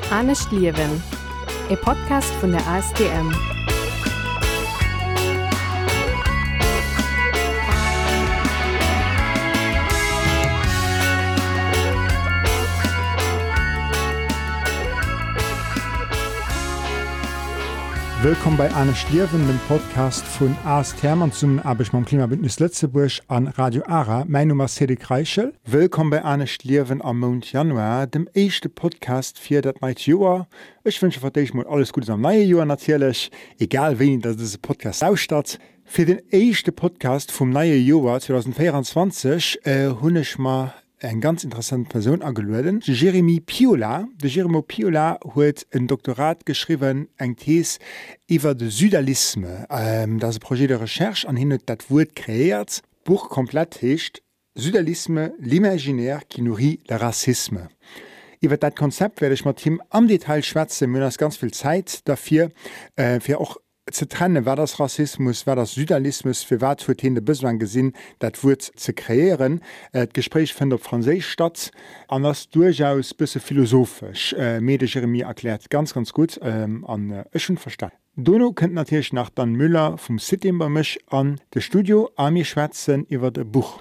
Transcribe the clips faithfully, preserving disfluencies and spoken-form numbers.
Ernst Liewen, ein Podcast von der A S D M. Willkommen bei Ernst Liewen, dem Podcast von A S D M und zum Arbeit beim Klimabündnis Lützeburg an Radio ARA. Mein Name ist Cedric Reichel. Willkommen bei Ernst Liewen am Monat Januar, dem ersten Podcast für das neue Jahr. Ich wünsche für dich mal alles Gute am neuen Jahr natürlich, egal wen das dieser Podcast ausstattet. Für den ersten Podcast vom neuen Jahr zwanzig vierundzwanzig äh, habe ich mal eine ganz interessante Person angeladen, Jeremy Piola. Der Jeremy Piola hat ein Doktorat geschrieben, eine These über den Südalisme. Ähm, das ist ein Projekt de Recherche, an dem er das Wort kreiert. Buch komplett heißt Südalisme, l'imaginaire qui nourrit le racisme. Über das Konzept werde ich mit ihm am Detail schwätzen. Wir haben ganz viel Zeit dafür, äh, für auch zu trennen, war das Rassismus, war das Südalismus, für was wird in Besoin gesehen, das Wort zu kreieren. Äh, das Gespräch findet auf Französisch statt, und das ist durchaus ein bisschen philosophisch. Äh, mir der Jeremy erklärt ganz, ganz gut, ähm, und äh, ich schon verstanden. Dono könnt natürlich nach Dan Müller vom City bei mich an das Studio, an mir schwätzen über das Buch.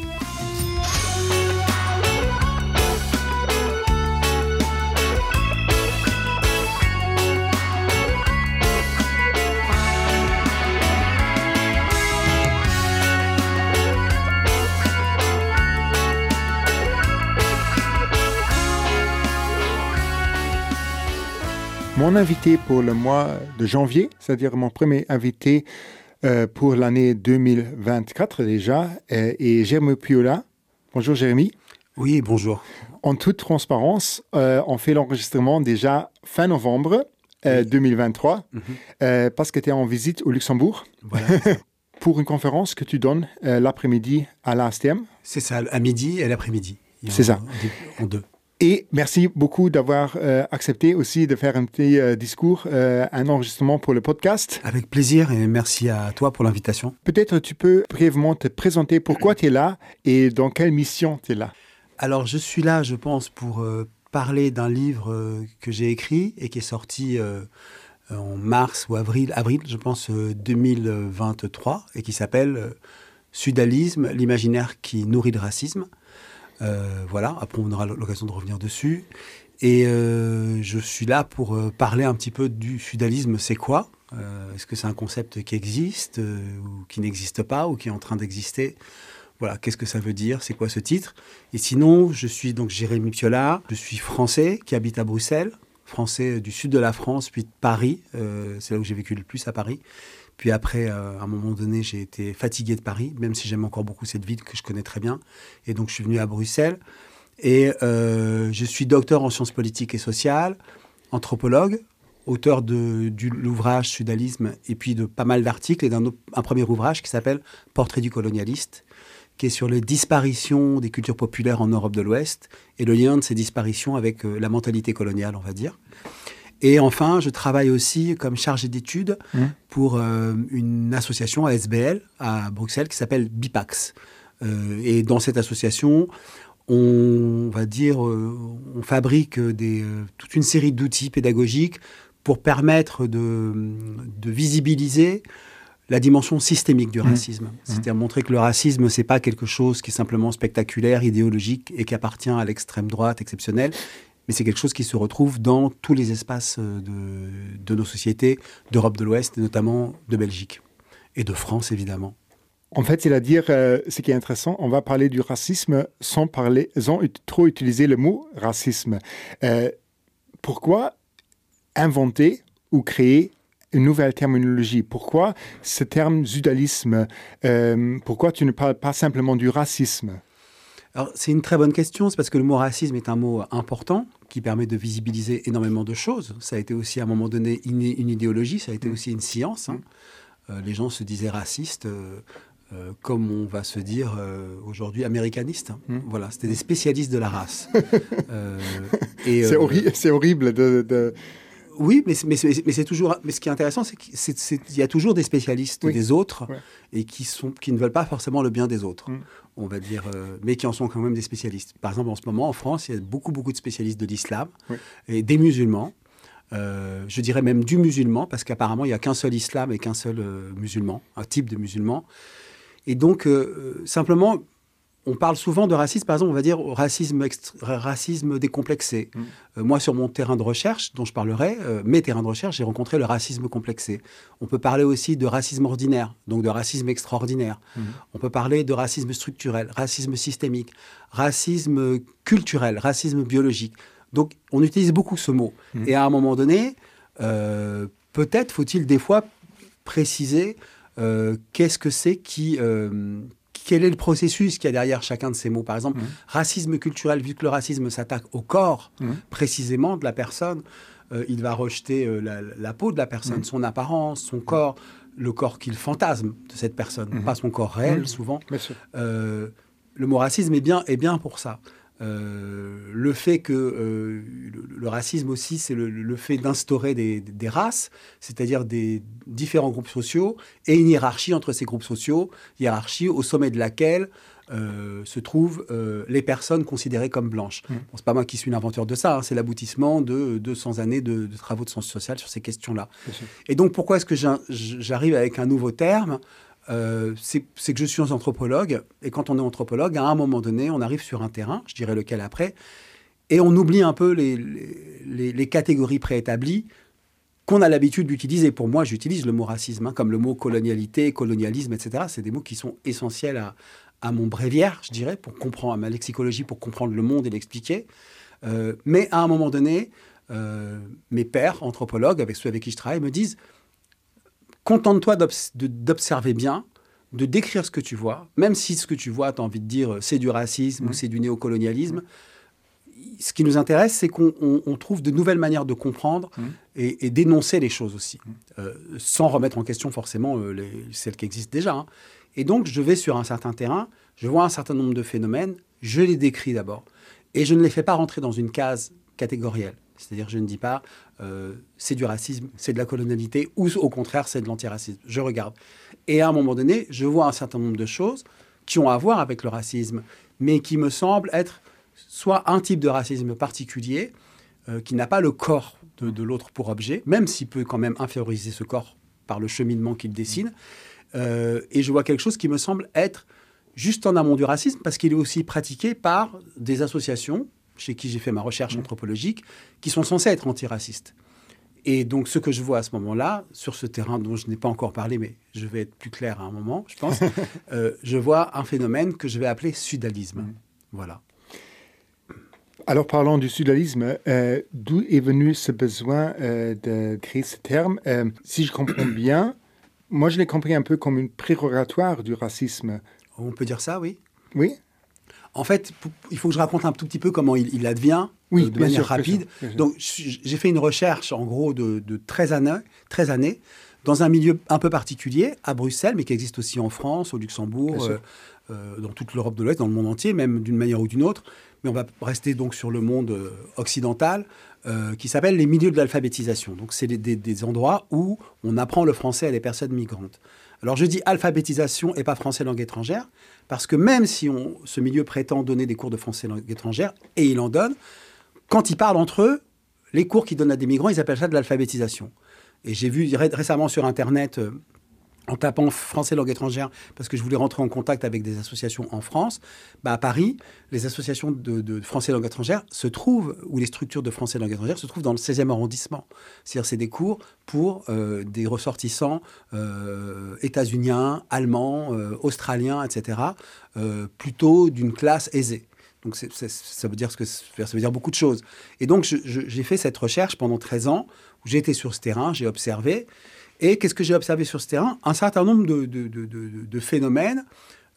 Mon invité pour le mois de janvier, c'est-à-dire mon premier invité euh, pour l'année deux mille vingt-quatre déjà, euh, est Jeremy Piola. Bonjour Jérémy. Oui, bonjour. En toute transparence, euh, on fait l'enregistrement déjà fin novembre euh, oui. deux mille vingt-trois, mm-hmm. euh, parce que tu es en visite au Luxembourg. Voilà. Pour une conférence que tu donnes euh, l'après-midi à l'A S T M. C'est ça, à midi et l'après-midi. C'est ça. En deux. Et merci beaucoup d'avoir euh, accepté aussi de faire un petit euh, discours, euh, un enregistrement pour le podcast. Avec plaisir et merci à toi pour l'invitation. Peut-être tu peux brièvement te présenter pourquoi tu es là et dans quelle mission tu es là. Alors je suis là, je pense, pour euh, parler d'un livre euh, que j'ai écrit et qui est sorti euh, en mars ou avril, avril je pense, euh, deux mille vingt-trois et qui s'appelle euh, Sudalisme, l'imaginaire qui nourrit le racisme. Euh, voilà, après on aura l'occasion de revenir dessus. Et euh, je suis là pour euh, parler un petit peu du sudalisme, c'est quoi euh, Est-ce que c'est un concept qui existe euh, ou qui n'existe pas ou qui est en train d'exister? Voilà, qu'est-ce que ça veut dire? C'est quoi ce titre? Et sinon, je suis donc Jeremy Piola, je suis français qui habite à Bruxelles, français du sud de la France, puis de Paris, euh, c'est là où j'ai vécu le plus à Paris. Puis après, euh, à un moment donné, j'ai été fatigué de Paris, même si j'aime encore beaucoup cette ville que je connais très bien. Et donc, je suis venu à Bruxelles. Et euh, je suis docteur en sciences politiques et sociales, anthropologue, auteur de, de l'ouvrage Sudalisme et puis de pas mal d'articles et d'un un premier ouvrage qui s'appelle Portrait du colonialiste, qui est sur les disparitions des cultures populaires en Europe de l'Ouest et le lien de ces disparitions avec euh, la mentalité coloniale, on va dire. Et enfin, je travaille aussi comme chargé d'études mmh. pour euh, une association à S B L à Bruxelles qui s'appelle BIPAX. Euh, et dans cette association, on, on va dire, euh, on fabrique des, euh, toute une série d'outils pédagogiques pour permettre de, de visibiliser la dimension systémique du racisme. Mmh. C'est-à-dire montrer que le racisme, c'est pas quelque chose qui est simplement spectaculaire, idéologique et qui appartient à l'extrême droite exceptionnelle, mais c'est quelque chose qui se retrouve dans tous les espaces de, de nos sociétés, d'Europe de l'Ouest, et notamment de Belgique, et de France, évidemment. En fait, c'est-à-dire, euh, ce qui est intéressant, on va parler du racisme sans, parler, sans ut- trop utiliser le mot racisme. Euh, pourquoi inventer ou créer une nouvelle terminologie? Pourquoi ce terme sudalisme? euh, Pourquoi tu ne parles pas simplement du racisme? Alors, c'est une très bonne question, c'est parce que le mot racisme est un mot important qui permet de visibiliser énormément de choses. Ça a été aussi à un moment donné une, une idéologie, ça a été aussi une science. Hein. Euh, les gens se disaient racistes, euh, euh, comme on va se dire euh, aujourd'hui américanistes. Hein. Mmh. Voilà, c'était des spécialistes de la race. euh, et, c'est, euh, horri- c'est horrible de... de... Oui, mais, mais, mais, mais c'est toujours. Mais ce qui est intéressant, c'est qu'il y a toujours des spécialistes oui. des autres ouais. et qui, sont, qui ne veulent pas forcément le bien des autres, mm. on va dire, euh, mais qui en sont quand même des spécialistes. Par exemple, en ce moment, en France, il y a beaucoup, beaucoup de spécialistes de l'islam oui. et des musulmans. Euh, je dirais même du musulman, parce qu'apparemment, il n'y a qu'un seul islam et qu'un seul euh, musulman, un type de musulman. Et donc, euh, simplement. On parle souvent de racisme, par exemple, on va dire racisme, extra- racisme décomplexé. Mmh. Euh, moi, sur mon terrain de recherche, dont je parlerai, euh, mes terrains de recherche, j'ai rencontré le racisme complexé. On peut parler aussi de racisme ordinaire, donc de racisme extraordinaire. Mmh. On peut parler de racisme structurel, racisme systémique, racisme culturel, racisme biologique. Donc, on utilise beaucoup ce mot. Mmh. Et à un moment donné, euh, peut-être faut-il des fois préciser euh, qu'est-ce que c'est qui... Euh, Quel est le processus qu'il y a derrière chacun de ces mots? Par exemple, mmh. racisme culturel, vu que le racisme s'attaque au corps, mmh. précisément, de la personne, euh, il va rejeter euh, la, la peau de la personne, mmh. son apparence, son corps, le corps qu'il fantasme de cette personne, mmh. pas son corps réel, mmh. souvent. Euh, le mot racisme est bien, est bien pour ça. Euh, le fait que euh, le, le racisme aussi, c'est le, le fait d'instaurer des, des races, c'est-à-dire des différents groupes sociaux et une hiérarchie entre ces groupes sociaux, hiérarchie au sommet de laquelle euh, se trouvent euh, les personnes considérées comme blanches. Mmh. Bon, c'est pas moi qui suis l'inventeur de ça, hein, c'est l'aboutissement de deux cents années de, de travaux de sciences sociales sur ces questions-là. Et donc pourquoi est-ce que j'arrive avec un nouveau terme? Euh, c'est, c'est que je suis anthropologue, et quand on est anthropologue, à un moment donné, on arrive sur un terrain, je dirais lequel après, et on oublie un peu les, les, les catégories préétablies qu'on a l'habitude d'utiliser. Pour moi, j'utilise le mot racisme, hein, comme le mot colonialité, colonialisme, et cetera. C'est des mots qui sont essentiels à, à mon bréviaire, je dirais, pour comprendre, à ma lexicologie, pour comprendre le monde et l'expliquer. Euh, mais à un moment donné, euh, mes pairs anthropologues, avec ceux avec qui je travaille, me disent: contente-toi d'obs- de, d'observer bien, de décrire ce que tu vois, même si ce que tu vois, tu as envie de dire c'est du racisme mmh. ou c'est du néocolonialisme. Mmh. Ce qui nous intéresse, c'est qu'on on, on trouve de nouvelles manières de comprendre mmh. et, et d'énoncer les choses aussi, mmh. euh, sans remettre en question forcément euh, les, celles qui existent déjà. Hein. Et donc, je vais sur un certain terrain, je vois un certain nombre de phénomènes, je les décris d'abord, et je ne les fais pas rentrer dans une case catégorielle. C'est-à-dire, je ne dis pas euh, c'est du racisme, c'est de la colonialité, ou au contraire, c'est de l'antiracisme. Je regarde. Et à un moment donné, je vois un certain nombre de choses qui ont à voir avec le racisme, mais qui me semblent être soit un type de racisme particulier, euh, qui n'a pas le corps de, de l'autre pour objet, même s'il peut quand même inférioriser ce corps par le cheminement qu'il dessine. Euh, et je vois quelque chose qui me semble être juste en amont du racisme, parce qu'il est aussi pratiqué par des associations chez qui j'ai fait ma recherche mmh. anthropologique, qui sont censés être antiracistes. Et donc, ce que je vois à ce moment-là, sur ce terrain dont je n'ai pas encore parlé, mais je vais être plus clair à un moment, je pense, euh, je vois un phénomène que je vais appeler sudalisme. Mmh. Voilà. Alors, parlons du sudalisme. Euh, d'où est venu ce besoin euh, de créer ce terme? euh, Si je comprends bien, moi, je l'ai compris un peu comme une prérogatoire du racisme. On peut dire ça, oui. Oui. En fait, il faut que je raconte un tout petit peu comment il, il advient, oui, euh, de manière sûr, rapide. Bien sûr, bien sûr. Donc, j'ai fait une recherche, en gros, de, de treize années, treize années, dans un milieu un peu particulier, à Bruxelles, mais qui existe aussi en France, au Luxembourg, euh, euh, dans toute l'Europe de l'Ouest, dans le monde entier, même d'une manière ou d'une autre. Mais on va rester donc sur le monde euh, occidental, euh, qui s'appelle les milieux de l'alphabétisation. Donc, c'est des, des, des endroits où on apprend le français à des personnes migrantes. Alors, je dis alphabétisation et pas français langue étrangère, parce que même si on, ce milieu prétend donner des cours de français langue étrangère, et il en donne, quand ils parlent entre eux, les cours qu'ils donnent à des migrants, ils appellent ça de l'alphabétisation. Et j'ai vu ré- récemment sur Internet, euh, en tapant français langue étrangère, parce que je voulais rentrer en contact avec des associations en France, bah à Paris, les associations de, de français langue étrangère se trouvent, ou les structures de français langue étrangère se trouvent dans le seizième arrondissement. C'est-à-dire c'est des cours pour euh, des ressortissants euh, états-uniens, allemands, euh, australiens, et cetera, euh, plutôt d'une classe aisée. Donc c'est, c'est, ça, veut dire ce que, ça veut dire beaucoup de choses. Et donc je, je, j'ai fait cette recherche pendant treize ans, où j'ai été sur ce terrain, j'ai observé. Et qu'est-ce que j'ai observé sur ce terrain? Un certain nombre de, de, de, de, de phénomènes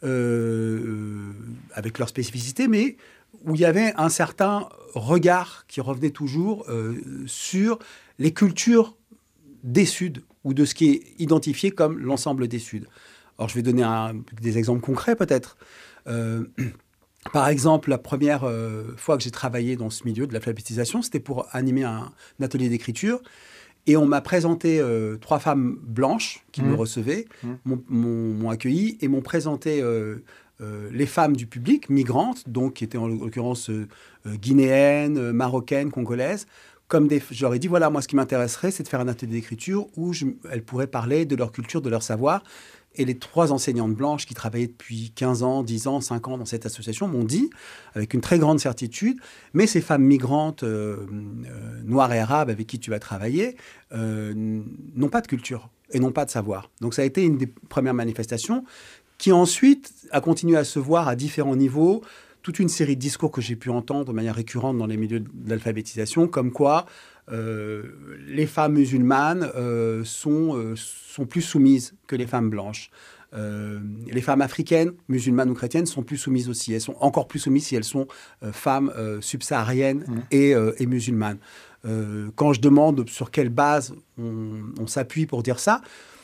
euh, avec leur spécificité, mais où il y avait un certain regard qui revenait toujours euh, sur les cultures des Suds, ou de ce qui est identifié comme l'ensemble des Suds. Alors, je vais donner un, des exemples concrets, peut-être. Euh, Par exemple, la première euh, fois que j'ai travaillé dans ce milieu de l'alphabétisation, c'était pour animer un, un atelier d'écriture. Et on m'a présenté euh, trois femmes blanches qui mmh. me recevaient, mmh. m'ont, m'ont, m'ont accueilli et m'ont présenté euh, euh, les femmes du public, migrantes, donc qui étaient en l'occurrence euh, guinéennes, euh, marocaines, congolaises. Comme des, je leur ai dit, voilà, moi, ce qui m'intéresserait, c'est de faire un atelier d'écriture où je, elles pourraient parler de leur culture, de leur savoir. Et les trois enseignantes blanches qui travaillaient depuis quinze ans, dix ans, cinq ans dans cette association m'ont dit, avec une très grande certitude, mais ces femmes migrantes euh, euh, noires et arabes avec qui tu vas travailler euh, n'ont pas de culture et n'ont pas de savoir. Donc ça a été une des premières manifestations qui ensuite a continué à se voir à différents niveaux. Toute une série de discours que j'ai pu entendre de manière récurrente dans les milieux de l'alphabétisation, comme quoi euh, les femmes musulmanes euh, sont, euh, sont plus soumises que les femmes blanches. Euh, les femmes africaines, musulmanes ou chrétiennes, sont plus soumises aussi. Elles sont encore plus soumises si elles sont euh, femmes euh, subsahariennes mmh. et, euh, et musulmanes. Euh, quand je demande sur quelle base on, on s'appuie pour dire ça,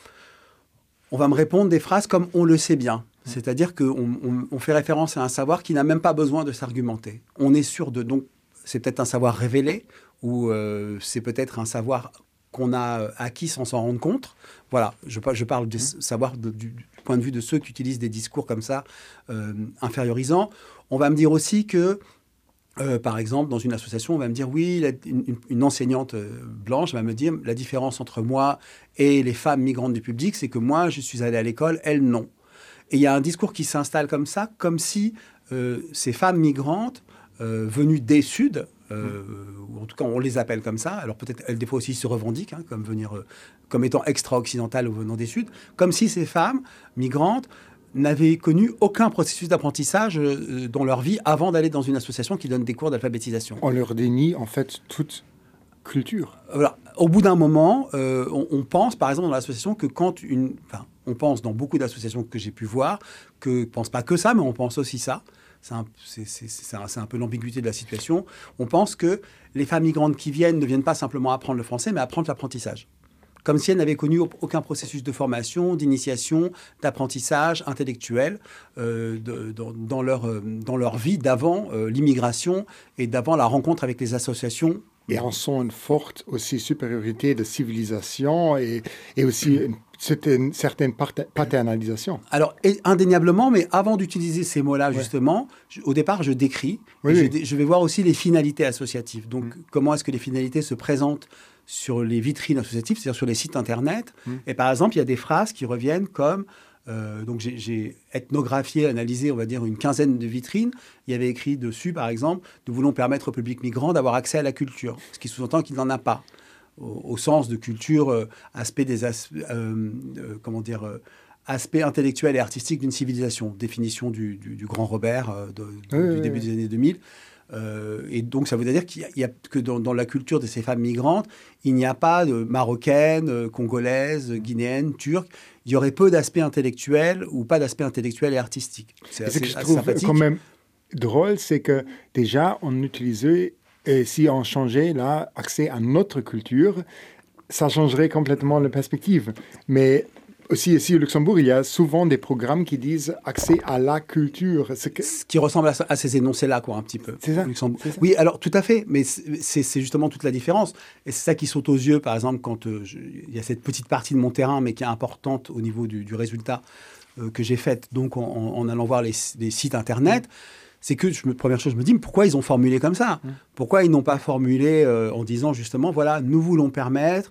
on va me répondre des phrases comme « on le sait bien ». C'est-à-dire qu'on on, on fait référence à un savoir qui n'a même pas besoin de s'argumenter. On est sûr de... Donc, c'est peut-être un savoir révélé ou euh, c'est peut-être un savoir qu'on a acquis sans s'en rendre compte. Voilà, je, je parle du savoir de, du, du point de vue de ceux qui utilisent des discours comme ça, euh, infériorisants. On va me dire aussi que, euh, par exemple, dans une association, on va me dire, oui, la, une, une enseignante blanche va me dire, la différence entre moi et les femmes migrantes du public, c'est que moi, je suis allée à l'école, elles, non. Et il y a un discours qui s'installe comme ça, comme si euh, ces femmes migrantes euh, venues des Suds, euh, ou en tout cas on les appelle comme ça, alors peut-être elles des fois aussi se revendiquent hein, comme, venir, euh, comme étant extra-occidentales ou venant des Suds, comme si ces femmes migrantes n'avaient connu aucun processus d'apprentissage euh, dans leur vie avant d'aller dans une association qui donne des cours d'alphabétisation. On leur dénie en fait toute culture. Voilà. Au bout d'un moment, euh, on, on pense par exemple dans l'association que quand une... Enfin, on pense dans beaucoup d'associations que j'ai pu voir, que ne pense pas que ça, mais on pense aussi ça. C'est un, c'est, c'est, c'est, un, c'est un peu l'ambiguïté de la situation. On pense que les femmes migrantes qui viennent ne viennent pas simplement apprendre le français, mais apprendre l'apprentissage. Comme si elles n'avaient connu aucun processus de formation, d'initiation, d'apprentissage intellectuel euh, de, dans, dans, leur, euh, dans leur vie d'avant euh, l'immigration et d'avant la rencontre avec les associations. Et en sont une forte aussi supériorité de civilisation et, et aussi une, une certaine paternalisation. Alors, indéniablement, mais avant d'utiliser ces mots-là, ouais. justement, je, au départ, je décris. Oui, et oui. je, je vais voir aussi les finalités associatives. Donc, mmh. comment est-ce que les finalités se présentent sur les vitrines associatives, c'est-à-dire sur les sites Internet. Mmh. Et par exemple, il y a des phrases qui reviennent comme... Euh, donc j'ai, j'ai ethnographié, analysé, on va dire, une quinzaine de vitrines. Il y avait écrit dessus, par exemple, « Nous voulons permettre au public migrant d'avoir accès à la culture », ce qui sous-entend qu'il n'en a pas, au, au sens de culture, euh, aspect des as, euh, euh, comment dire, euh, aspect intellectuel et artistique d'une civilisation, définition du, du, du grand Robert euh, de, de, oui, du oui, début oui. des années deux mille. Euh, et donc, ça veut dire qu'il y a, il y a que dans, dans la culture de ces femmes migrantes, il n'y a pas de marocaines, euh, congolaises, guinéennes, turques. Il y aurait peu d'aspects intellectuels ou pas d'aspects intellectuels et artistiques. C'est assez, ce que je assez trouve sympathique. Quand même drôle, c'est que déjà, on utilisait, et si on changeait là, accès à notre culture, ça changerait complètement la perspective. Mais aussi ici au Luxembourg, il y a souvent des programmes qui disent accès à la culture. C'est que... Ce qui ressemble à, à ces énoncés-là, quoi, un petit peu. C'est ça, Luxembourg. c'est ça. Oui, alors tout à fait, mais c'est, c'est justement toute la différence. Et c'est ça qui saute aux yeux, par exemple, quand euh, je, il y a cette petite partie de mon terrain, mais qui est importante au niveau du, du résultat euh, que j'ai fait, donc en, en allant voir les, les sites Internet. Mmh. C'est que, je me, première chose, je me dis, mais pourquoi ils ont formulé comme ça ? Mmh. Pourquoi ils n'ont pas formulé euh, en disant justement, voilà, nous voulons permettre...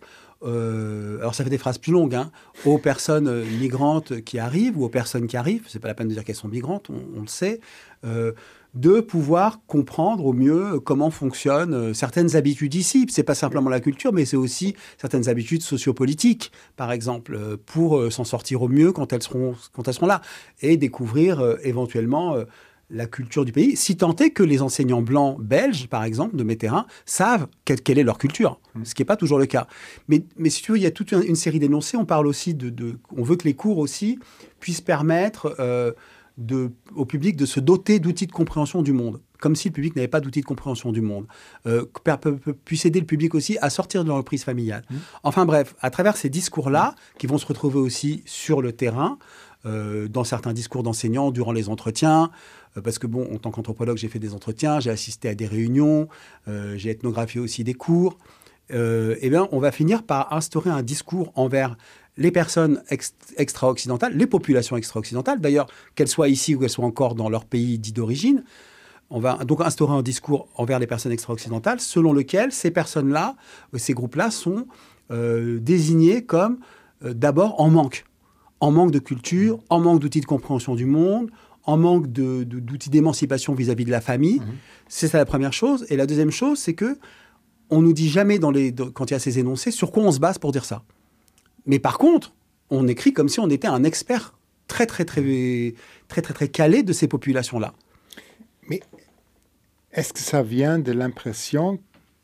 Euh, alors ça fait des phrases plus longues, hein, aux personnes euh, migrantes qui arrivent ou aux personnes qui arrivent, c'est pas la peine de dire qu'elles sont migrantes, on, on le sait, euh, de pouvoir comprendre au mieux comment fonctionnent euh, certaines habitudes ici. C'est pas simplement la culture, mais c'est aussi certaines habitudes sociopolitiques, par exemple, euh, pour euh, s'en sortir au mieux quand elles seront, quand elles seront là, et découvrir euh, éventuellement... Euh, la culture du pays, si tant est que les enseignants blancs belges, par exemple, de mes terrains, savent quelle, quelle est leur culture, mmh. ce qui n'est pas toujours le cas. Mais, mais si tu veux, il y a toute une, une série d'énoncés. On parle aussi de, de... On veut que les cours aussi puissent permettre euh, de, au public de se doter d'outils de compréhension du monde, comme si le public n'avait pas d'outils de compréhension du monde. Euh, puisse aider le public aussi à sortir de leur reprise familiale. Mmh. Enfin bref, à travers ces discours-là, qui vont se retrouver aussi sur le terrain, euh, dans certains discours d'enseignants durant les entretiens, euh, parce que bon, en tant qu'anthropologue, j'ai fait des entretiens, j'ai assisté à des réunions, euh, j'ai ethnographié aussi des cours. Euh, eh bien, on va finir par instaurer un discours envers les personnes ex- extra-occidentales, les populations extra-occidentales, d'ailleurs, qu'elles soient ici ou qu'elles soient encore dans leur pays dit d'origine. On va donc instaurer un discours envers les personnes extra-occidentales selon lequel ces personnes-là, ces groupes-là sont euh, désignés comme euh, d'abord en manque. En manque de culture, en manque d'outils de compréhension du monde, en manque de, de, d'outils d'émancipation vis-à-vis de la famille. Mmh. C'est ça la première chose. Et la deuxième chose, c'est que on nous dit jamais dans les, dans, quand il y a ces énoncés sur quoi on se base pour dire ça. Mais par contre, on écrit comme si on était un expert très, très, très, très, très, très, très calé de ces populations-là. Mais est-ce que ça vient de l'impression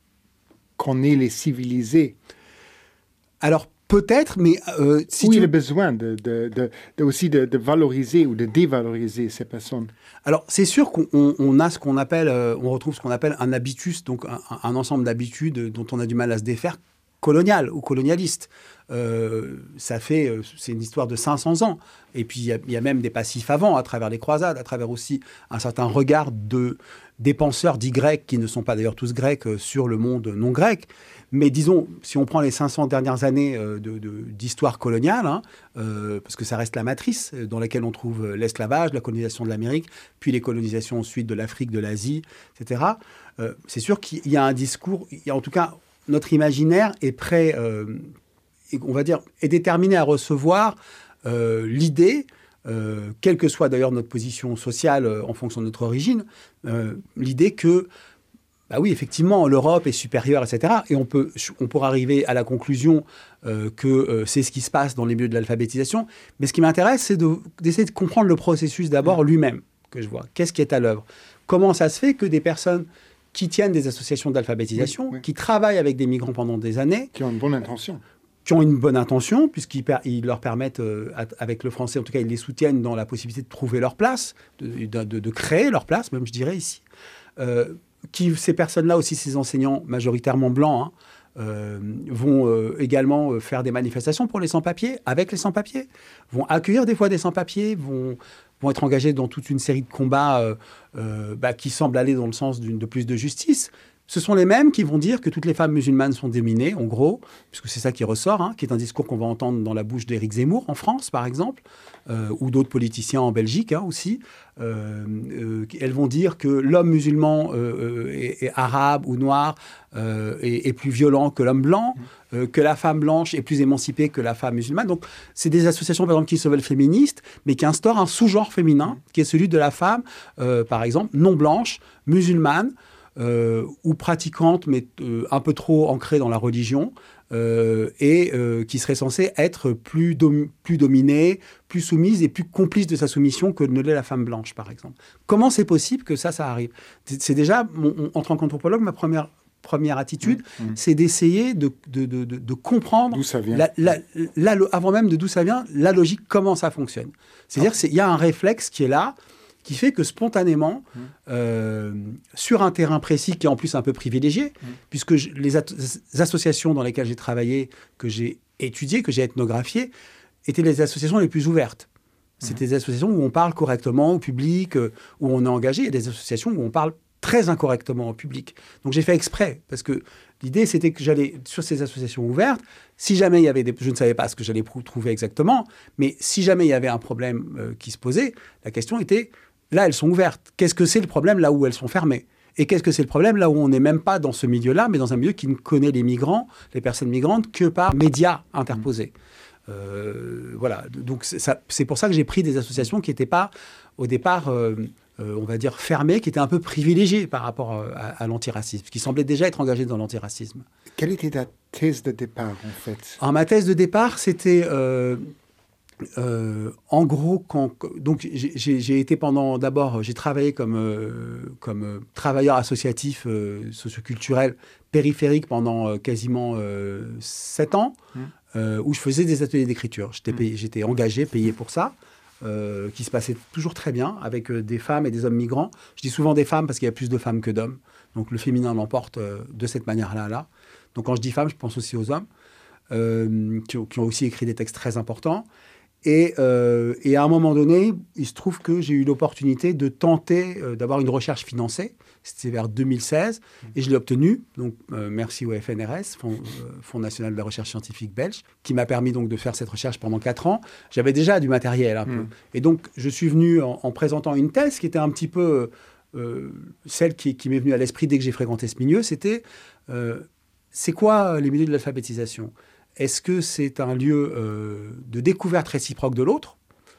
qu'on est les civilisés? Alors, peut-être, mais... Euh, si Où tu... il y a besoin de, de, de, de, aussi de, de valoriser ou de dévaloriser ces personnes? Alors, c'est sûr qu'on on, on a ce qu'on appelle... Euh, on retrouve ce qu'on appelle un habitus, donc un, un ensemble d'habitudes dont on a du mal à se défaire, colonial ou colonialiste. Euh, ça fait, euh, c'est une histoire de cinq cents ans. Et puis, il y, y a même des passifs avant, à travers les croisades, à travers aussi un certain regard de, des penseurs dits grecs, qui ne sont pas d'ailleurs tous grecs, euh, sur le monde non grec. Mais disons, si on prend les cinq cents dernières années euh, de, de, d'histoire coloniale, hein, euh, parce que ça reste la matrice dans laquelle on trouve l'esclavage, la colonisation de l'Amérique, puis les colonisations ensuite de l'Afrique, de l'Asie, et cetera. Euh, c'est sûr qu'il y a un discours, il y a en tout cas... Notre imaginaire est prêt, euh, on va dire, est déterminé à recevoir euh, l'idée, euh, quelle que soit d'ailleurs notre position sociale euh, en fonction de notre origine, euh, l'idée que, bah oui, effectivement, l'Europe est supérieure, et cetera. Et on peut, on pourra arriver à la conclusion euh, que euh, c'est ce qui se passe dans les milieux de l'alphabétisation. Mais ce qui m'intéresse, c'est de, d'essayer de comprendre le processus d'abord lui-même que je vois. Qu'est-ce qui est à l'œuvre? Comment ça se fait que des personnes qui tiennent des associations d'alphabétisation, oui, oui. qui travaillent avec des migrants pendant des années. Qui ont une bonne intention. Qui ont une bonne intention, puisqu'ils per- ils leur permettent, euh, avec le français, en tout cas, ils les soutiennent dans la possibilité de trouver leur place, de, de, de, de créer leur place, même je dirais ici. Euh, qui, ces personnes-là aussi, ces enseignants majoritairement blancs, hein, euh, vont euh, également euh, faire des manifestations pour les sans-papiers, avec les sans-papiers, vont accueillir des fois des sans-papiers, vont... vont être engagés dans toute une série de combats euh, euh, bah, qui semblent aller dans le sens d'une, de plus de justice. Ce sont les mêmes qui vont dire que toutes les femmes musulmanes sont dominées, en gros, puisque c'est ça qui ressort, hein, qui est un discours qu'on va entendre dans la bouche d'Éric Zemmour en France, par exemple, euh, ou d'autres politiciens en Belgique hein, aussi. Euh, euh, elles vont dire que l'homme musulman euh, est, est arabe ou noir euh, est, est plus violent que l'homme blanc, euh, que la femme blanche est plus émancipée que la femme musulmane. Donc, c'est des associations, par exemple, qui se veulent féministes, mais qui instaurent un sous-genre féminin, qui est celui de la femme, euh, par exemple, non blanche, musulmane, Euh, ou pratiquante, mais euh, un peu trop ancrée dans la religion, euh, et euh, qui serait censée être plus, dom- plus dominée, plus soumise et plus complice de sa soumission que ne l'est la femme blanche, par exemple. Comment c'est possible que ça, ça arrive? C'est déjà, mon, mon, en tant qu'anthropologue, ma première, première attitude, mmh, mmh. c'est d'essayer de, de, de, de, de comprendre, d'où ça vient. La, la, la, la, avant même de d'où ça vient, la logique, comment ça fonctionne. C'est-à-dire qu'il y a un réflexe qui est là, qui fait que spontanément, mmh. euh, sur un terrain précis qui est en plus un peu privilégié, mmh. puisque je, les, at- les associations dans lesquelles j'ai travaillé, que j'ai étudiées, que j'ai ethnographiées, étaient les associations les plus ouvertes. Mmh. C'était des associations où on parle correctement au public, euh, où on est engagé, et des associations où on parle très incorrectement au public. Donc j'ai fait exprès, parce que l'idée c'était que j'allais, sur ces associations ouvertes, si jamais il y avait des... Je ne savais pas ce que j'allais trouver exactement, mais si jamais il y avait un problème euh, qui se posait, la question était... Là, elles sont ouvertes. Qu'est-ce que c'est le problème là où elles sont fermées? Et qu'est-ce que c'est le problème là où on n'est même pas dans ce milieu-là, mais dans un milieu qui ne connaît les migrants, les personnes migrantes, que par médias interposés. Mmh. Euh, voilà. Donc, c'est, ça, c'est pour ça que j'ai pris des associations qui n'étaient pas, au départ, euh, euh, on va dire, fermées, qui étaient un peu privilégiées par rapport à, à l'antiracisme, qui semblaient déjà être engagées dans l'antiracisme. Quelle était ta thèse de départ, en fait? Alors, ma thèse de départ, c'était... Euh, Euh, en gros, quand, donc j'ai, j'ai, j'ai été pendant, d'abord, j'ai travaillé comme, euh, comme euh, travailleur associatif euh, socioculturel périphérique pendant euh, quasiment euh, sept ans, mmh. euh, où je faisais des ateliers d'écriture. J'étais, payé, j'étais engagé, payé pour ça, euh, qui se passait toujours très bien avec euh, des femmes et des hommes migrants. Je dis souvent des femmes parce qu'il y a plus de femmes que d'hommes, donc le féminin l'emporte euh, de cette manière-là. Là. Donc quand je dis femmes, je pense aussi aux hommes, euh, qui, qui ont aussi écrit des textes très importants. Et, euh, et à un moment donné, il se trouve que j'ai eu l'opportunité de tenter euh, d'avoir une recherche financée. C'était vers deux mille seize et je l'ai obtenue. Donc, euh, merci au F N R S, Fonds, euh, Fonds national de la recherche scientifique belge, qui m'a permis donc de faire cette recherche pendant quatre ans. J'avais déjà du matériel un mmh. peu. Et donc, je suis venu en, en présentant une thèse qui était un petit peu euh, celle qui, qui m'est venue à l'esprit dès que j'ai fréquenté ce milieu. C'était, euh, c'est quoi les milieux de l'alphabétisation ? Est-ce que c'est un lieu euh, de découverte réciproque de l'autre,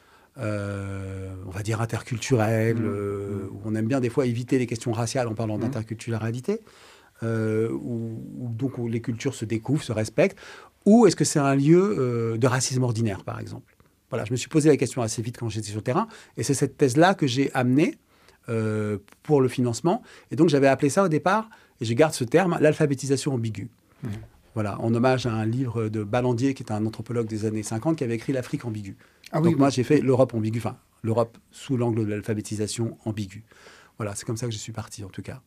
euh, on va dire interculturel, mmh. euh, où on aime bien des fois éviter les questions raciales en parlant mmh. d'interculturalité, euh, où, où donc où les cultures se découvrent, se respectent, ou est-ce que c'est un lieu euh, de racisme ordinaire, par exemple ? Voilà, je me suis posé la question assez vite quand j'étais sur le terrain, et c'est cette thèse-là que j'ai amenée euh, pour le financement, et donc j'avais appelé ça au départ, et je garde ce terme, l'alphabétisation ambiguë. Mmh. Voilà, en hommage à un livre de Ballandier, qui est un anthropologue des années cinquante, qui avait écrit l'Afrique ambiguë. Ah, Donc oui, moi, oui. j'ai fait l'Europe ambiguë, enfin, l'Europe sous l'angle de l'alphabétisation ambiguë. Voilà, c'est comme ça que je suis parti, en tout cas.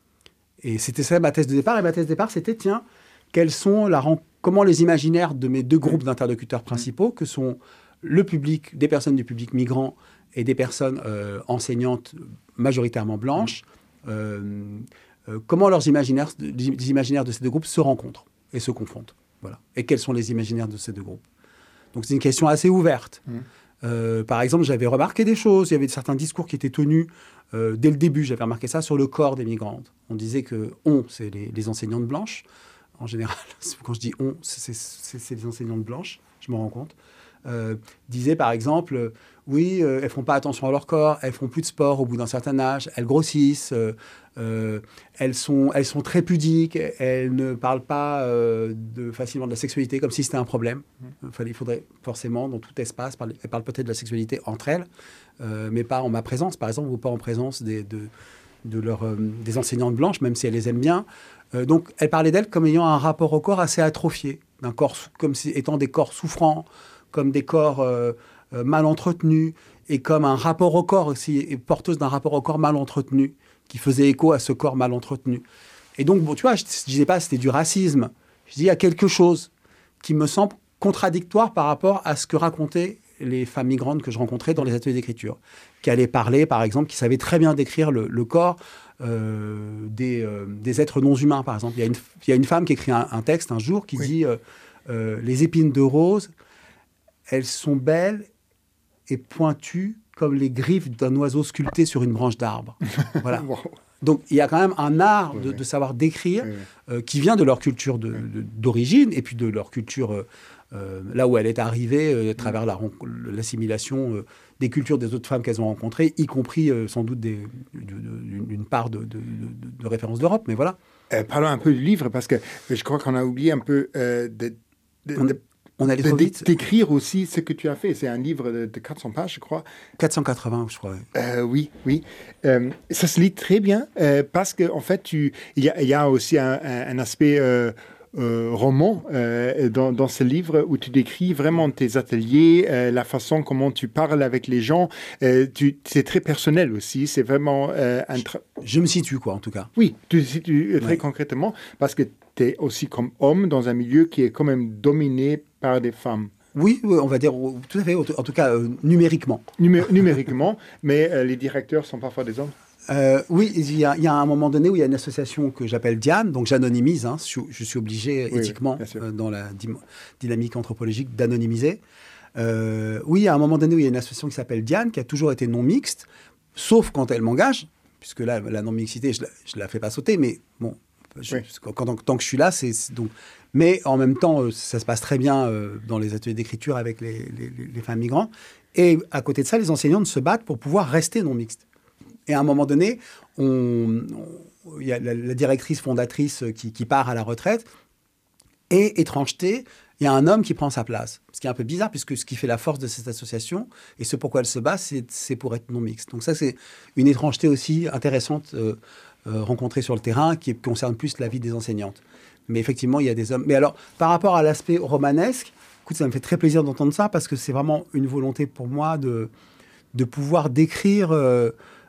Et c'était ça ma thèse de départ. Et ma thèse de départ, c'était, tiens, quels sont la, comment les imaginaires de mes deux groupes d'interlocuteurs principaux, que sont le public, des personnes du public migrant et des personnes euh, enseignantes majoritairement blanches, euh, euh, comment leurs imaginaires, les imaginaires de ces deux groupes se rencontrent et se confondent. Voilà. Et quels sont les imaginaires de ces deux groupes ? Donc, c'est une question assez ouverte. Mmh. Euh, par exemple, j'avais remarqué des choses. Il y avait certains discours qui étaient tenus euh, dès le début. J'avais remarqué ça sur le corps des migrantes. On disait que « on », c'est les, les enseignantes blanches. En général, quand je dis « on », c'est, c'est, c'est les enseignantes blanches, je me rends compte. Euh, disaient, par exemple, euh, oui, euh, elles ne font pas attention à leur corps, elles ne font plus de sport au bout d'un certain âge, elles grossissent, euh, euh, elles, sont, elles sont très pudiques, elles ne parlent pas euh, de, facilement de la sexualité comme si c'était un problème. Mmh. Enfin, il faudrait forcément, dans tout espace, parler, elles parlent peut-être de la sexualité entre elles, euh, mais pas en ma présence, par exemple, ou pas en présence des, de, de leur, euh, des enseignantes blanches, même si elles les aiment bien. Euh, donc, elles parlaient d'elles comme ayant un rapport au corps assez atrophié, d'un corps, comme si, étant des corps souffrants, comme des corps euh, euh, mal entretenus, et comme un rapport au corps aussi, et porteuse d'un rapport au corps mal entretenu, qui faisait écho à ce corps mal entretenu. Et donc, bon, tu vois, je ne disais pas que c'était du racisme. Je dis, il y a quelque chose qui me semble contradictoire par rapport à ce que racontaient les femmes migrantes que je rencontrais dans les ateliers d'écriture, qui allaient parler, par exemple, qui savaient très bien décrire le, le corps euh, des, euh, des êtres non humains, par exemple. Il y a une, il y a une femme qui écrit un, un texte un jour qui oui. dit euh, euh, « Les épines de rose, elles sont belles et pointues comme les griffes d'un oiseau sculpté sur une branche d'arbre. » Voilà. Wow. Donc, il y a quand même un art de, oui. de savoir décrire oui. euh, qui vient de leur culture de, oui. de, d'origine et puis de leur culture, euh, euh, là où elle est arrivée, euh, à travers la, l'assimilation euh, des cultures des autres femmes qu'elles ont rencontrées, y compris euh, sans doute des, de, de, d'une part de, de, de, de référence d'Europe, mais voilà. Euh, parlons un peu du livre, parce que je crois qu'on a oublié un peu euh, de... de, on, de... On allait trop vite. D'écrire aussi ce que tu as fait. C'est un livre de, de quatre cents pages, je crois. quatre cent quatre-vingts, je crois. Euh, oui, oui. Euh, ça se lit très bien euh, parce qu'en en fait, tu, il, y a, il y a aussi un, un, un aspect euh, euh, roman euh, dans, dans ce livre où tu décris vraiment tes ateliers, euh, la façon comment tu parles avec les gens. Euh, tu, c'est très personnel aussi. C'est vraiment euh, un... Tra... Je, je me situe, quoi, en tout cas. Oui, tu te situes très ouais. concrètement parce que tu es aussi comme homme dans un milieu qui est quand même dominé par des femmes. Oui, on va dire tout à fait, en tout cas euh, numériquement. Numé- numériquement, mais euh, les directeurs sont parfois des hommes. Euh, oui, il y, a, il y a un moment donné où il y a une association que j'appelle Diane, donc j'anonymise, hein, je, je suis obligé oui, éthiquement, oui, euh, dans la dy- dynamique anthropologique, d'anonymiser. Euh, oui, il y a un moment donné où il y a une association qui s'appelle Diane, qui a toujours été non mixte, sauf quand elle m'engage, puisque là, la non-mixité, je ne la, la fais pas sauter, mais bon, je, oui. quand, quand, tant que je suis là, c'est, c'est donc... Mais en même temps, ça se passe très bien euh, dans les ateliers d'écriture avec les, les, les femmes migrantes. Et à côté de ça, les enseignantes se battent pour pouvoir rester non mixtes. Et à un moment donné, il y a la, la directrice fondatrice qui, qui part à la retraite. Et étrangeté, il y a un homme qui prend sa place. Ce qui est un peu bizarre, puisque ce qui fait la force de cette association, et ce pourquoi elle se bat, c'est, c'est pour être non mixte. Donc ça, c'est une étrangeté aussi intéressante euh, euh, rencontrée sur le terrain, qui concerne plus la vie des enseignantes. Mais effectivement, il y a des hommes. Mais alors, par rapport à l'aspect romanesque, écoute, ça me fait très plaisir d'entendre ça parce que c'est vraiment une volonté pour moi de, de pouvoir décrire euh,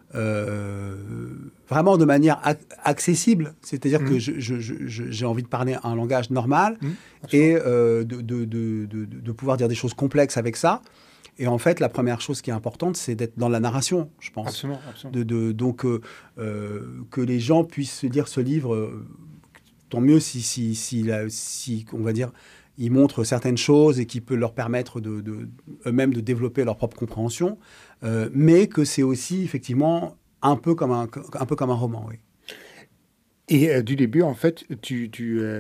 euh, vraiment de manière ac- accessible. C'est-à-dire mmh. que je, je, je, j'ai envie de parler un langage normal mmh, et euh, de, de, de, de, de pouvoir dire des choses complexes avec ça. Et en fait, la première chose qui est importante, c'est d'être dans la narration, je pense. Absolument, absolument. De, de, donc, euh, euh, que les gens puissent lire ce livre, euh, tant mieux si, si, si, la, si, on va dire, il montre certaines choses et qui peut leur permettre de, de, eux-mêmes de développer leur propre compréhension, euh, mais que c'est aussi, effectivement, un peu comme un, un, peu comme un roman, oui. Et euh, du début, en fait, tu, tu, euh,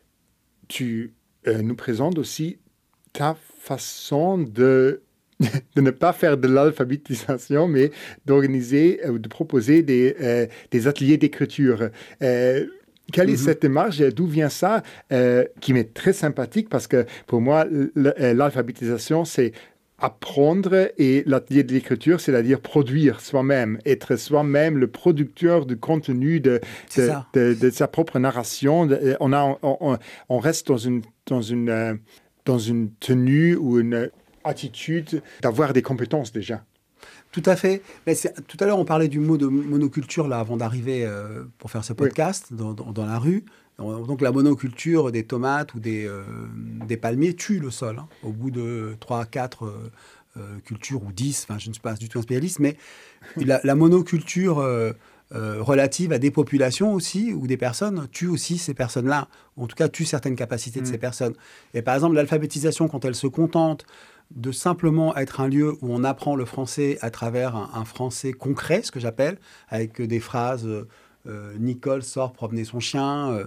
tu euh, nous présentes aussi ta façon de, de ne pas faire de l'alphabétisation, mais d'organiser ou de proposer des, euh, des ateliers d'écriture. Euh, quelle est mm-hmm. cette démarche? D'où vient ça? euh, Qui m'est très sympathique parce que pour moi, l'alphabétisation, c'est apprendre, et l'atelier de l'écriture, c'est-à-dire produire soi-même, être soi-même le producteur du contenu de, de, de, de sa propre narration. On, a, on, on reste dans une, dans, une, dans une tenue ou une attitude d'avoir des compétences déjà. Tout à fait. Mais c'est, tout à l'heure, on parlait du mot de monoculture là, avant d'arriver euh, pour faire ce podcast oui. dans, dans, dans la rue. Donc la monoculture des tomates ou des, euh, des palmiers tue le sol. Hein. Au bout de trois, quatre euh, euh, cultures ou dix, enfin je ne suis pas du tout un spécialiste, mais la, la monoculture euh, euh, relative à des populations aussi, ou des personnes, tue aussi ces personnes-là, ou en tout cas tue certaines capacités mmh. de ces personnes. Et par exemple, l'alphabétisation, quand elle se contente de simplement être un lieu où on apprend le français à travers un, un français concret, ce que j'appelle, avec des phrases... Euh, Euh, Nicole sort promener son chien, euh,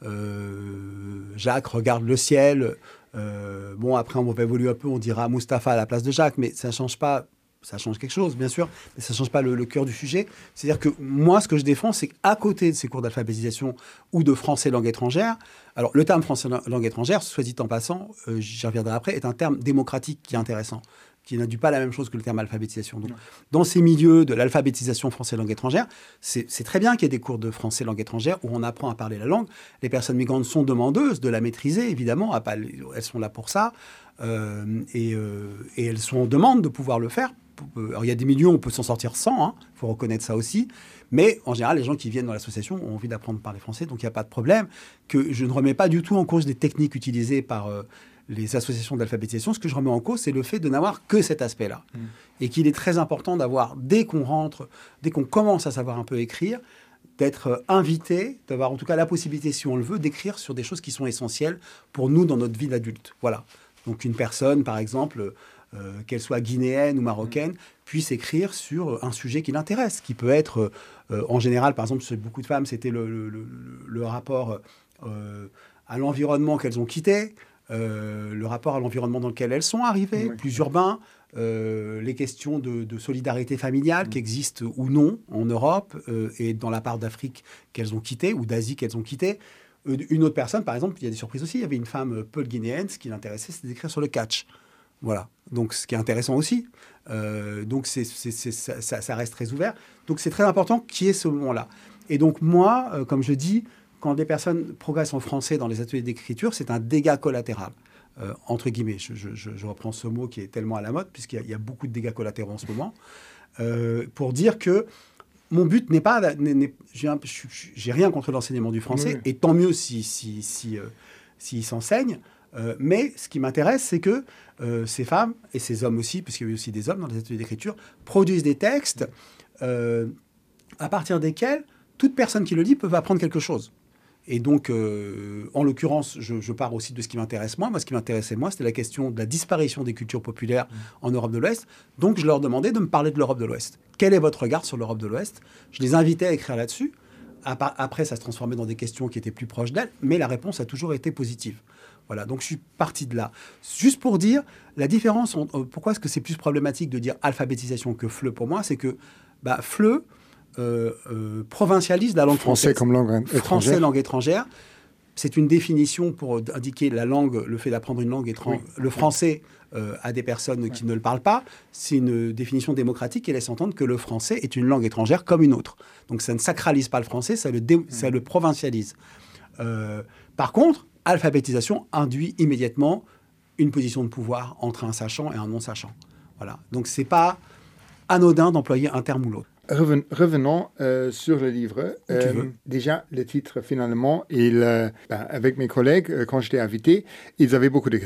euh, Jacques regarde le ciel. Euh, bon, après, on va évoluer un peu, on dira Mustapha à la place de Jacques, mais ça change pas. Ça change quelque chose, bien sûr, mais ça ne change pas le, le cœur du sujet. C'est-à-dire que moi, ce que je défends, c'est qu'à côté de ces cours d'alphabétisation ou de français langue étrangère, alors le terme français langue étrangère, soit dit en passant, euh, j'y reviendrai après, est un terme démocratique qui est intéressant, qui n'induit pas la même chose que le terme alphabétisation. Donc, dans ces milieux de l'alphabétisation français langue étrangère, c'est, c'est très bien qu'il y ait des cours de français langue étrangère où on apprend à parler la langue. Les personnes migrantes sont demandeuses de la maîtriser, évidemment, elles sont là pour ça, euh, et, euh, et elles sont en demande de pouvoir le faire. Alors, il y a des milieux où on peut s'en sortir sans, il hein, faut reconnaître ça aussi. Mais en général, les gens qui viennent dans l'association ont envie d'apprendre à parler français, donc il n'y a pas de problème. Que je ne remets pas du tout en cause des techniques utilisées par euh, les associations d'alphabétisation. Ce que je remets en cause, c'est le fait de n'avoir que cet aspect-là. Mmh. Et qu'il est très important d'avoir, dès qu'on rentre, dès qu'on commence à savoir un peu écrire, d'être invité, d'avoir en tout cas la possibilité, si on le veut, d'écrire sur des choses qui sont essentielles pour nous dans notre vie d'adulte. Voilà. Donc une personne, par exemple... Euh, qu'elle soit guinéenne ou marocaine, puisse écrire sur un sujet qui l'intéresse, qui peut être, euh, en général, par exemple, chez beaucoup de femmes, c'était le, le, le, le rapport euh, à l'environnement qu'elles ont quitté, euh, le rapport à l'environnement dans lequel elles sont arrivées, oui. plus urbain, euh, les questions de, de solidarité familiale oui. qui existent ou non en Europe euh, et dans la part d'Afrique qu'elles ont quitté ou d'Asie qu'elles ont quitté. Une autre personne, par exemple, il y a des surprises aussi, il y avait une femme peul guinéenne, ce qui l'intéressait, c'était d'écrire sur le catch. Voilà, donc ce qui est intéressant aussi. Euh, donc c'est, c'est, c'est, ça, ça reste très ouvert. Donc c'est très important qu'il y ait ce moment-là. Et donc moi, euh, comme je dis, quand des personnes progressent en français dans les ateliers d'écriture, c'est un dégât collatéral, euh, entre guillemets. Je, je, je reprends ce mot qui est tellement à la mode, puisqu'il y a, il y a beaucoup de dégâts collatéraux en ce moment, euh, pour dire que mon but n'est pas... N'est, n'est, j'ai, un, je, j'ai rien contre l'enseignement du français, oui. et tant mieux si, si, si, euh, s'il s'enseigne. Euh, mais ce qui m'intéresse, c'est que euh, ces femmes, et ces hommes aussi, puisqu'il y a aussi des hommes dans les ateliers d'écriture, produisent des textes euh, à partir desquels toute personne qui le lit peut apprendre quelque chose. Et donc, euh, en l'occurrence, je, je pars aussi de ce qui m'intéresse moi. Moi, ce qui m'intéressait moi, c'était la question de la disparition des cultures populaires mmh. en Europe de l'Ouest. Donc, je leur demandais de me parler de l'Europe de l'Ouest. Quel est votre regard sur l'Europe de l'Ouest ? Je les invitais à écrire là-dessus. Après, ça se transformait dans des questions qui étaient plus proches d'elles, mais la réponse a toujours été positive. Voilà, donc je suis parti de là. Juste pour dire, la différence, en, euh, pourquoi est-ce que c'est plus problématique de dire alphabétisation que F L E pour moi, c'est que bah, F L E euh, euh, provincialise la langue français française. Comme langue étrangère. Français, langue étrangère. C'est une définition pour indiquer la langue, le fait d'apprendre une langue étrangère, oui. le français euh, à des personnes qui oui. ne le parlent pas. C'est une définition démocratique qui laisse entendre que le français est une langue étrangère comme une autre. Donc ça ne sacralise pas le français, ça le, dé- oui. ça le provincialise. Euh, par contre, alphabétisation induit immédiatement une position de pouvoir entre un sachant et un non-sachant. Voilà. Donc, ce n'est pas anodin d'employer un terme ou l'autre. Reven, revenons euh, sur le livre. Euh, déjà, le titre, finalement, il, euh, ben, avec mes collègues, euh, quand je t'ai invité, ils avaient beaucoup de questions.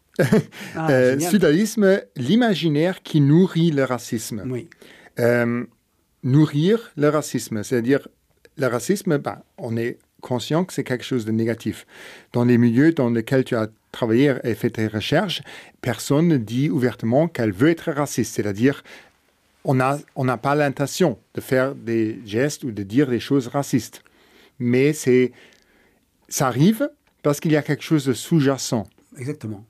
Ah, euh, génial. Sudalisme, l'imaginaire qui nourrit le racisme. Oui. Euh, nourrir le racisme, c'est-à-dire le racisme, ben, on est conscient que c'est quelque chose de négatif. Dans les milieux dans lesquels tu as travaillé et fait tes recherches, personne ne dit ouvertement qu'elle veut être raciste, c'est-à-dire on n'a on n'a pas l'intention de faire des gestes ou de dire des choses racistes. Mais c'est, ça arrive parce qu'il y a quelque chose de sous-jacent. Exactement.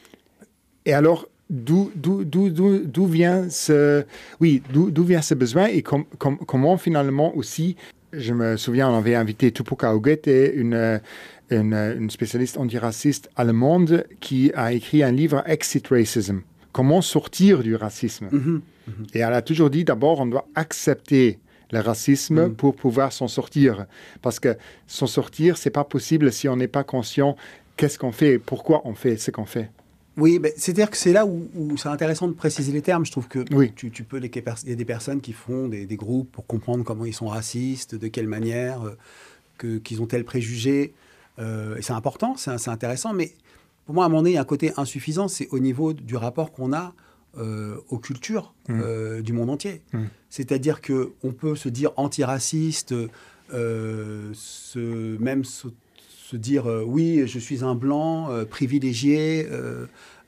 Et alors, d'où, d'où, d'où, d'où, d'où vient ce, oui, d'où, d'où vient ce besoin et com, com, comment finalement aussi, je me souviens, on avait invité Tupoka Ogette, une, une, une spécialiste antiraciste allemande qui a écrit un livre Exit Racism, comment sortir du racisme. Mm-hmm. Mm-hmm. Et elle a toujours dit, d'abord, on doit accepter le racisme mm. pour pouvoir s'en sortir. Parce que s'en sortir, c'est pas possible si on n'est pas conscient qu'est-ce qu'on fait, pourquoi on fait ce qu'on fait. Oui, ben, c'est-à-dire que c'est là où, où c'est intéressant de préciser les termes. Je trouve que oui. tu, tu peux, les, il y a des personnes qui font des, des groupes pour comprendre comment ils sont racistes, de quelle manière, euh, que, qu'ils ont tel préjugé. Euh, et c'est important, c'est, c'est intéressant. Mais pour moi, à un moment donné, il y a un côté insuffisant, c'est au niveau du rapport qu'on a euh, aux cultures mmh. euh, du monde entier. Mmh. C'est-à-dire qu'on peut se dire antiraciste, euh, se, même se, se dire euh, oui, je suis un blanc euh, privilégié euh,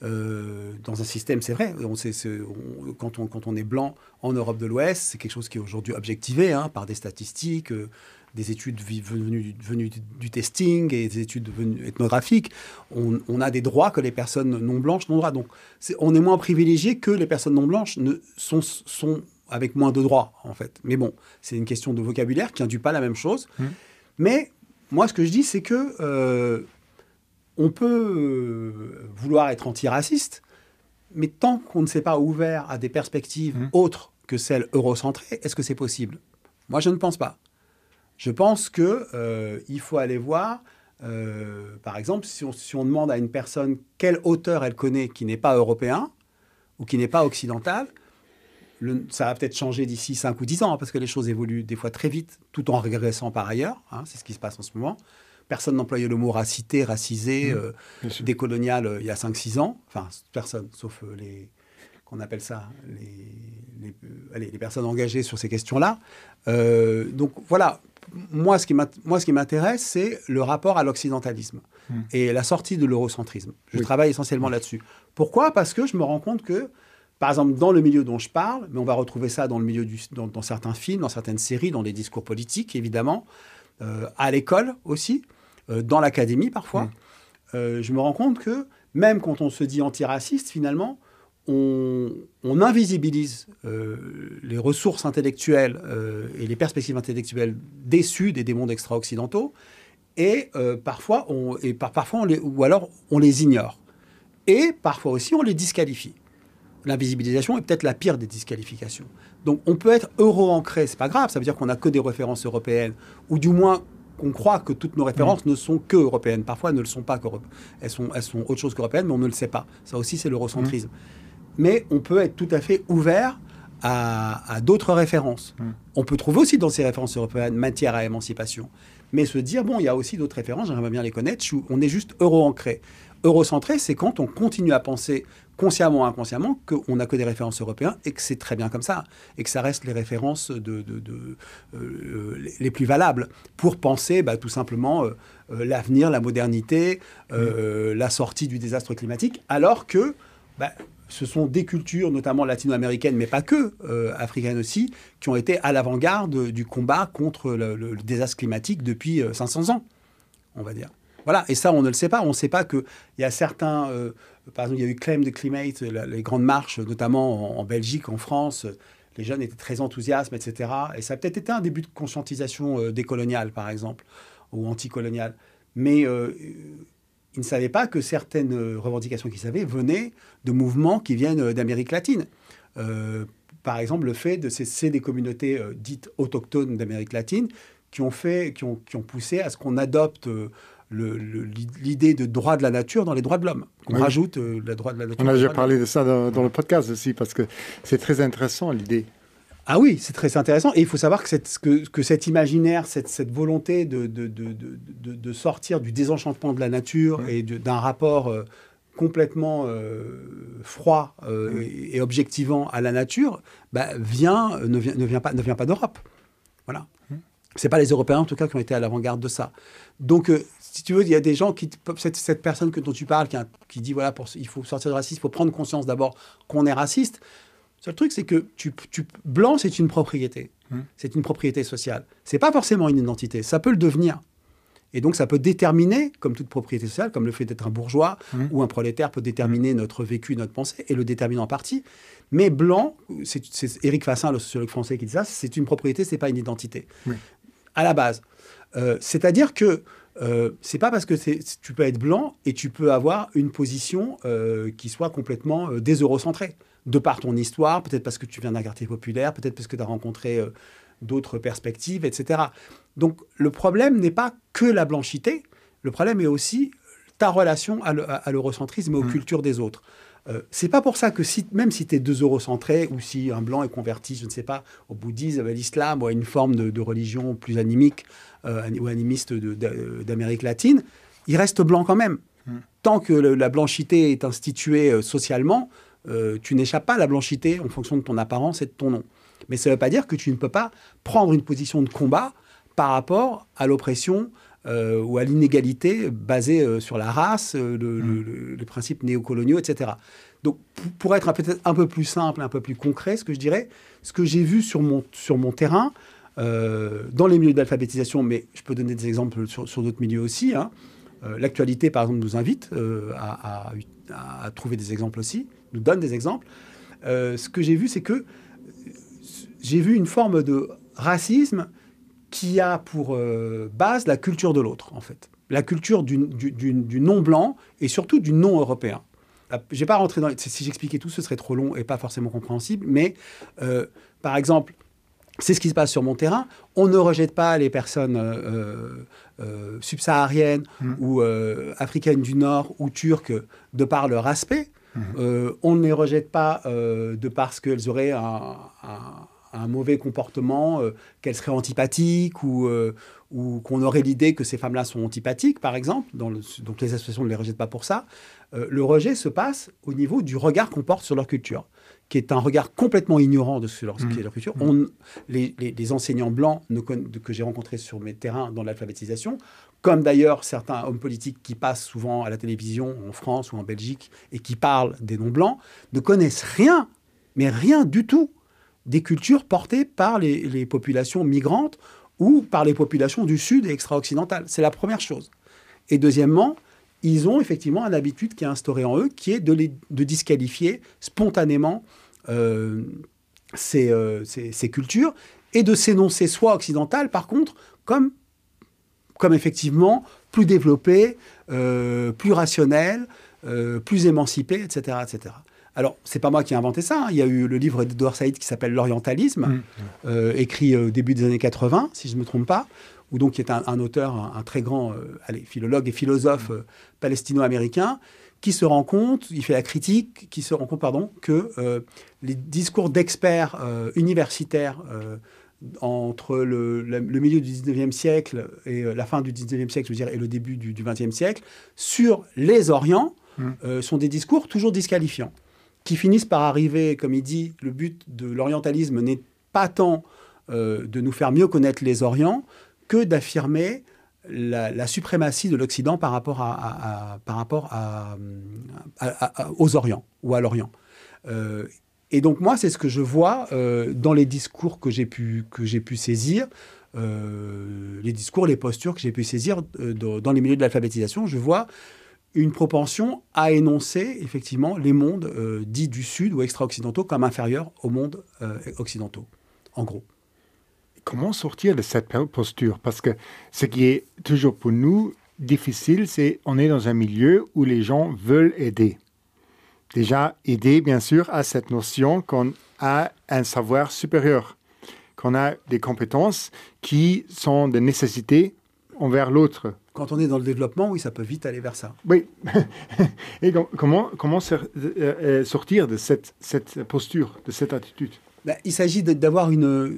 euh, dans un système, c'est vrai. On sait, c'est, on, quand, on, quand on est blanc en Europe de l'Ouest, c'est quelque chose qui est aujourd'hui objectivé hein, par des statistiques, euh, des études venues, venues du testing et des études venues ethnographiques. On, on a des droits que les personnes non blanches n'ont droit. Donc, c'est, on est moins privilégié que les personnes non blanches ne, sont, sont avec moins de droits, en fait. Mais bon, c'est une question de vocabulaire qui induit pas la même chose. Mmh. Mais moi, ce que je dis, c'est que euh, on peut euh, vouloir être antiraciste, mais tant qu'on ne s'est pas ouvert à des perspectives mmh. autres que celles eurocentrées, est-ce que c'est possible ? Moi, je ne pense pas. Je pense qu'il euh, faut aller voir, euh, par exemple, si on, si on demande à une personne quel auteur elle connaît qui n'est pas européen ou qui n'est pas occidental, le, ça va peut-être changer d'ici cinq ou dix ans, hein, parce que les choses évoluent des fois très vite, tout en régressant par ailleurs. Hein, c'est ce qui se passe en ce moment. Personne n'employait le mot racité, racisé, mmh, euh, décolonial euh, il y a cinq six ans. Enfin, personne, sauf euh, les... qu'on appelle ça, les, les, euh, allez, les personnes engagées sur ces questions-là. Euh, donc voilà, moi ce, qui moi, ce qui m'intéresse, c'est le rapport à l'occidentalisme mmh. et la sortie de l'eurocentrisme. Je oui. travaille essentiellement mmh. là-dessus. Pourquoi ? Parce que je me rends compte que, par exemple, dans le milieu dont je parle, mais on va retrouver ça dans, le milieu du, dans, dans certains films, dans certaines séries, dans les discours politiques, évidemment, euh, à l'école aussi, euh, dans l'académie parfois, mmh. euh, je me rends compte que même quand on se dit antiraciste, finalement, On, on invisibilise euh, les ressources intellectuelles euh, et les perspectives intellectuelles des Sud et des mondes extra-occidentaux, et euh, parfois, on, et par, parfois on les, ou alors on les ignore. Et parfois aussi, on les disqualifie. L'invisibilisation est peut-être la pire des disqualifications. Donc, on peut être euro-ancré, c'est pas grave, ça veut dire qu'on n'a que des références européennes, ou du moins qu'on croit que toutes nos références mmh. ne sont que européennes. Parfois, elles ne le sont pas qu'européennes. Elles sont, elles sont autre chose qu'européennes, mais on ne le sait pas. Ça aussi, c'est l'eurocentrisme. Mmh. Mais on peut être tout à fait ouvert à, à d'autres références. Mmh. On peut trouver aussi dans ces références européennes matière à émancipation. Mais se dire, bon, il y a aussi d'autres références, j'aimerais bien les connaître, on est juste euro-ancré. Eurocentré, c'est quand on continue à penser consciemment ou inconsciemment qu'on n'a que des références européennes et que c'est très bien comme ça, et que ça reste les références de, de, de, euh, les plus valables pour penser bah, tout simplement euh, euh, l'avenir, la modernité, euh, mmh. la sortie du désastre climatique, alors que... Bah, ce sont des cultures, notamment latino-américaines, mais pas que, euh, africaines aussi, qui ont été à l'avant-garde du combat contre le, le, le désastre climatique depuis euh, cinq cents ans, on va dire. Voilà, et ça, on ne le sait pas. On ne sait pas qu'il y a certains... Euh, par exemple, il y a eu Claim the Climate, la, les grandes marches, notamment en, en Belgique, en France. Les jeunes étaient très enthousiastes, et cetera. Et ça a peut-être été un début de conscientisation euh, décoloniale, par exemple, ou anticoloniale. Mais... Euh, ils ne savaient pas que certaines revendications qu'ils avaient venaient de mouvements qui viennent d'Amérique latine. Euh, par exemple, le fait de... C'est, c'est des communautés euh, dites autochtones d'Amérique latine qui ont, fait, qui, ont, qui ont poussé à ce qu'on adopte euh, le, le, l'idée de droit de la nature dans les droits de l'homme. Qu'on oui. rajoute euh, le droit de la nature. On a déjà parlé de, de ça dans, dans le podcast aussi, parce que c'est très intéressant, l'idée. Ah oui, c'est très intéressant. Et il faut savoir que, cette, que, que cet imaginaire, cette, cette volonté de, de, de, de, de sortir du désenchantement de la nature mmh. et de, d'un rapport euh, complètement euh, froid euh, mmh. et, et objectivant à la nature, bah, vient, ne, vient, ne, vient pas, ne vient pas d'Europe. Voilà. Mmh. Ce n'est pas les Européens, en tout cas, qui ont été à l'avant-garde de ça. Donc, euh, si tu veux, il y a des gens qui... Cette, cette personne que, dont tu parles, qui, a, qui dit, voilà, pour, il faut sortir du racisme, il faut prendre conscience d'abord qu'on est raciste. Le seul truc, c'est que tu, tu, blanc, c'est une propriété. Mmh. C'est une propriété sociale. Ce n'est pas forcément une identité. Ça peut le devenir. Et donc, ça peut déterminer, comme toute propriété sociale, comme le fait d'être un bourgeois mmh. ou un prolétaire peut déterminer mmh. notre vécu, notre pensée, et le détermine en partie. Mais blanc, c'est, c'est Éric Fassin, le sociologue français, qui dit ça, c'est une propriété, ce n'est pas une identité. Mmh. À la base. Euh, c'est-à-dire que euh, ce n'est pas parce que c'est, tu peux être blanc et tu peux avoir une position euh, qui soit complètement euh, déseurocentrée. De par ton histoire, peut-être parce que tu viens d'un quartier populaire, peut-être parce que tu as rencontré... Euh, d'autres perspectives, et cetera. Donc, le problème n'est pas que la blanchité, le problème est aussi ta relation à, le, à l'eurocentrisme et aux mmh. cultures des autres. Euh, c'est pas pour ça que si, même si tu es deux eurocentré ou si un blanc est converti, je ne sais pas, au bouddhisme, à l'islam ou à une forme de, de religion plus animique euh, ou animiste de, de, d'Amérique latine, il reste blanc quand même. Mmh. Tant que le, la blanchité est instituée euh, socialement, euh, tu n'échappes pas à la blanchité en fonction de ton apparence et de ton nom. Mais ça ne veut pas dire que tu ne peux pas prendre une position de combat par rapport à l'oppression euh, ou à l'inégalité basée euh, sur la race, euh, le, mmh. le, le principe néocoloniaux, et cetera. Donc, pour, pour être un, peut-être un peu plus simple, un peu plus concret, ce que je dirais, ce que j'ai vu sur mon, sur mon terrain, euh, dans les milieux d'alphabétisation, mais je peux donner des exemples sur, sur d'autres milieux aussi, hein. euh, l'actualité, par exemple, nous invite euh, à, à, à trouver des exemples aussi, nous donne des exemples. Euh, ce que j'ai vu, c'est que j'ai vu une forme de racisme qui a pour euh, base la culture de l'autre, en fait. La culture du, du, du, du non-blanc et surtout du non-européen. Je ne vais pas rentrer dans... Si j'expliquais tout, ce serait trop long et pas forcément compréhensible. Mais, euh, par exemple, c'est ce qui se passe sur mon terrain. On ne rejette pas les personnes euh, euh, subsahariennes mmh. ou euh, africaines du Nord ou turques de par leur aspect. Mmh. Euh, on ne les rejette pas euh, de parce qu'elles auraient un... un un mauvais comportement, euh, qu'elles seraient antipathiques ou, euh, ou qu'on aurait l'idée que ces femmes-là sont antipathiques, par exemple. Dans le, donc les associations ne les rejettent pas pour ça. Euh, le rejet se passe au niveau du regard qu'on porte sur leur culture, qui est un regard complètement ignorant de ce, leur, ce qui est leur culture. Mmh. On, les, les, les enseignants blancs ne, que j'ai rencontrés sur mes terrains dans l'alphabétisation, comme d'ailleurs certains hommes politiques qui passent souvent à la télévision en France ou en Belgique et qui parlent des non-blancs, ne connaissent rien, mais rien du tout, des cultures portées par les, les populations migrantes ou par les populations du Sud et extra-occidentales. C'est la première chose. Et deuxièmement, ils ont effectivement une habitude qui est instaurée en eux, qui est de, les, de disqualifier spontanément euh, ces, euh, ces, ces cultures et de s'énoncer soit occidentales, par contre, comme, comme effectivement plus développées, euh, plus rationnelles, euh, plus émancipées, et cetera, et cetera. Alors, ce n'est pas moi qui ai inventé ça. Hein. Il y a eu le livre d'Edouard Saïd qui s'appelle « L'orientalisme mmh. », euh, écrit au début des années quatre-vingts, si je ne me trompe pas, où donc il est un, un auteur, un, un très grand euh, allez, philologue et philosophe euh, palestino-américain, qui se rend compte, il fait la critique, qui se rend compte, pardon, que euh, les discours d'experts euh, universitaires euh, entre le, le, le milieu du dix-neuvième siècle et euh, la fin du dix-neuvième siècle, je veux dire, et le début du, du vingtième siècle, sur les Orients, mmh. euh, sont des discours toujours disqualifiants, qui finissent par arriver, comme il dit, le but de l'orientalisme n'est pas tant euh, de nous faire mieux connaître les Orients que d'affirmer la, la suprématie de l'Occident par rapport, à, à, à, par rapport à, à, à, aux Orients ou à l'Orient. Euh, et donc moi, c'est ce que je vois euh, dans les discours que j'ai pu, que j'ai pu saisir, euh, les discours, les postures que j'ai pu saisir euh, dans, dans les milieux de l'alphabétisation. Je vois une propension à énoncer, effectivement, les mondes euh, dits du Sud ou extra-occidentaux comme inférieurs aux mondes euh, occidentaux, en gros. Comment sortir de cette posture? Parce que ce qui est toujours pour nous difficile, c'est qu'on est dans un milieu où les gens veulent aider. Déjà, aider, bien sûr, à cette notion qu'on a un savoir supérieur, qu'on a des compétences qui sont de nécessité envers l'autre. Quand on est dans le développement, oui, ça peut vite aller vers ça. Oui. Et donc, comment, comment sortir de cette, cette posture, de cette attitude? Ben, il s'agit de, d'avoir une,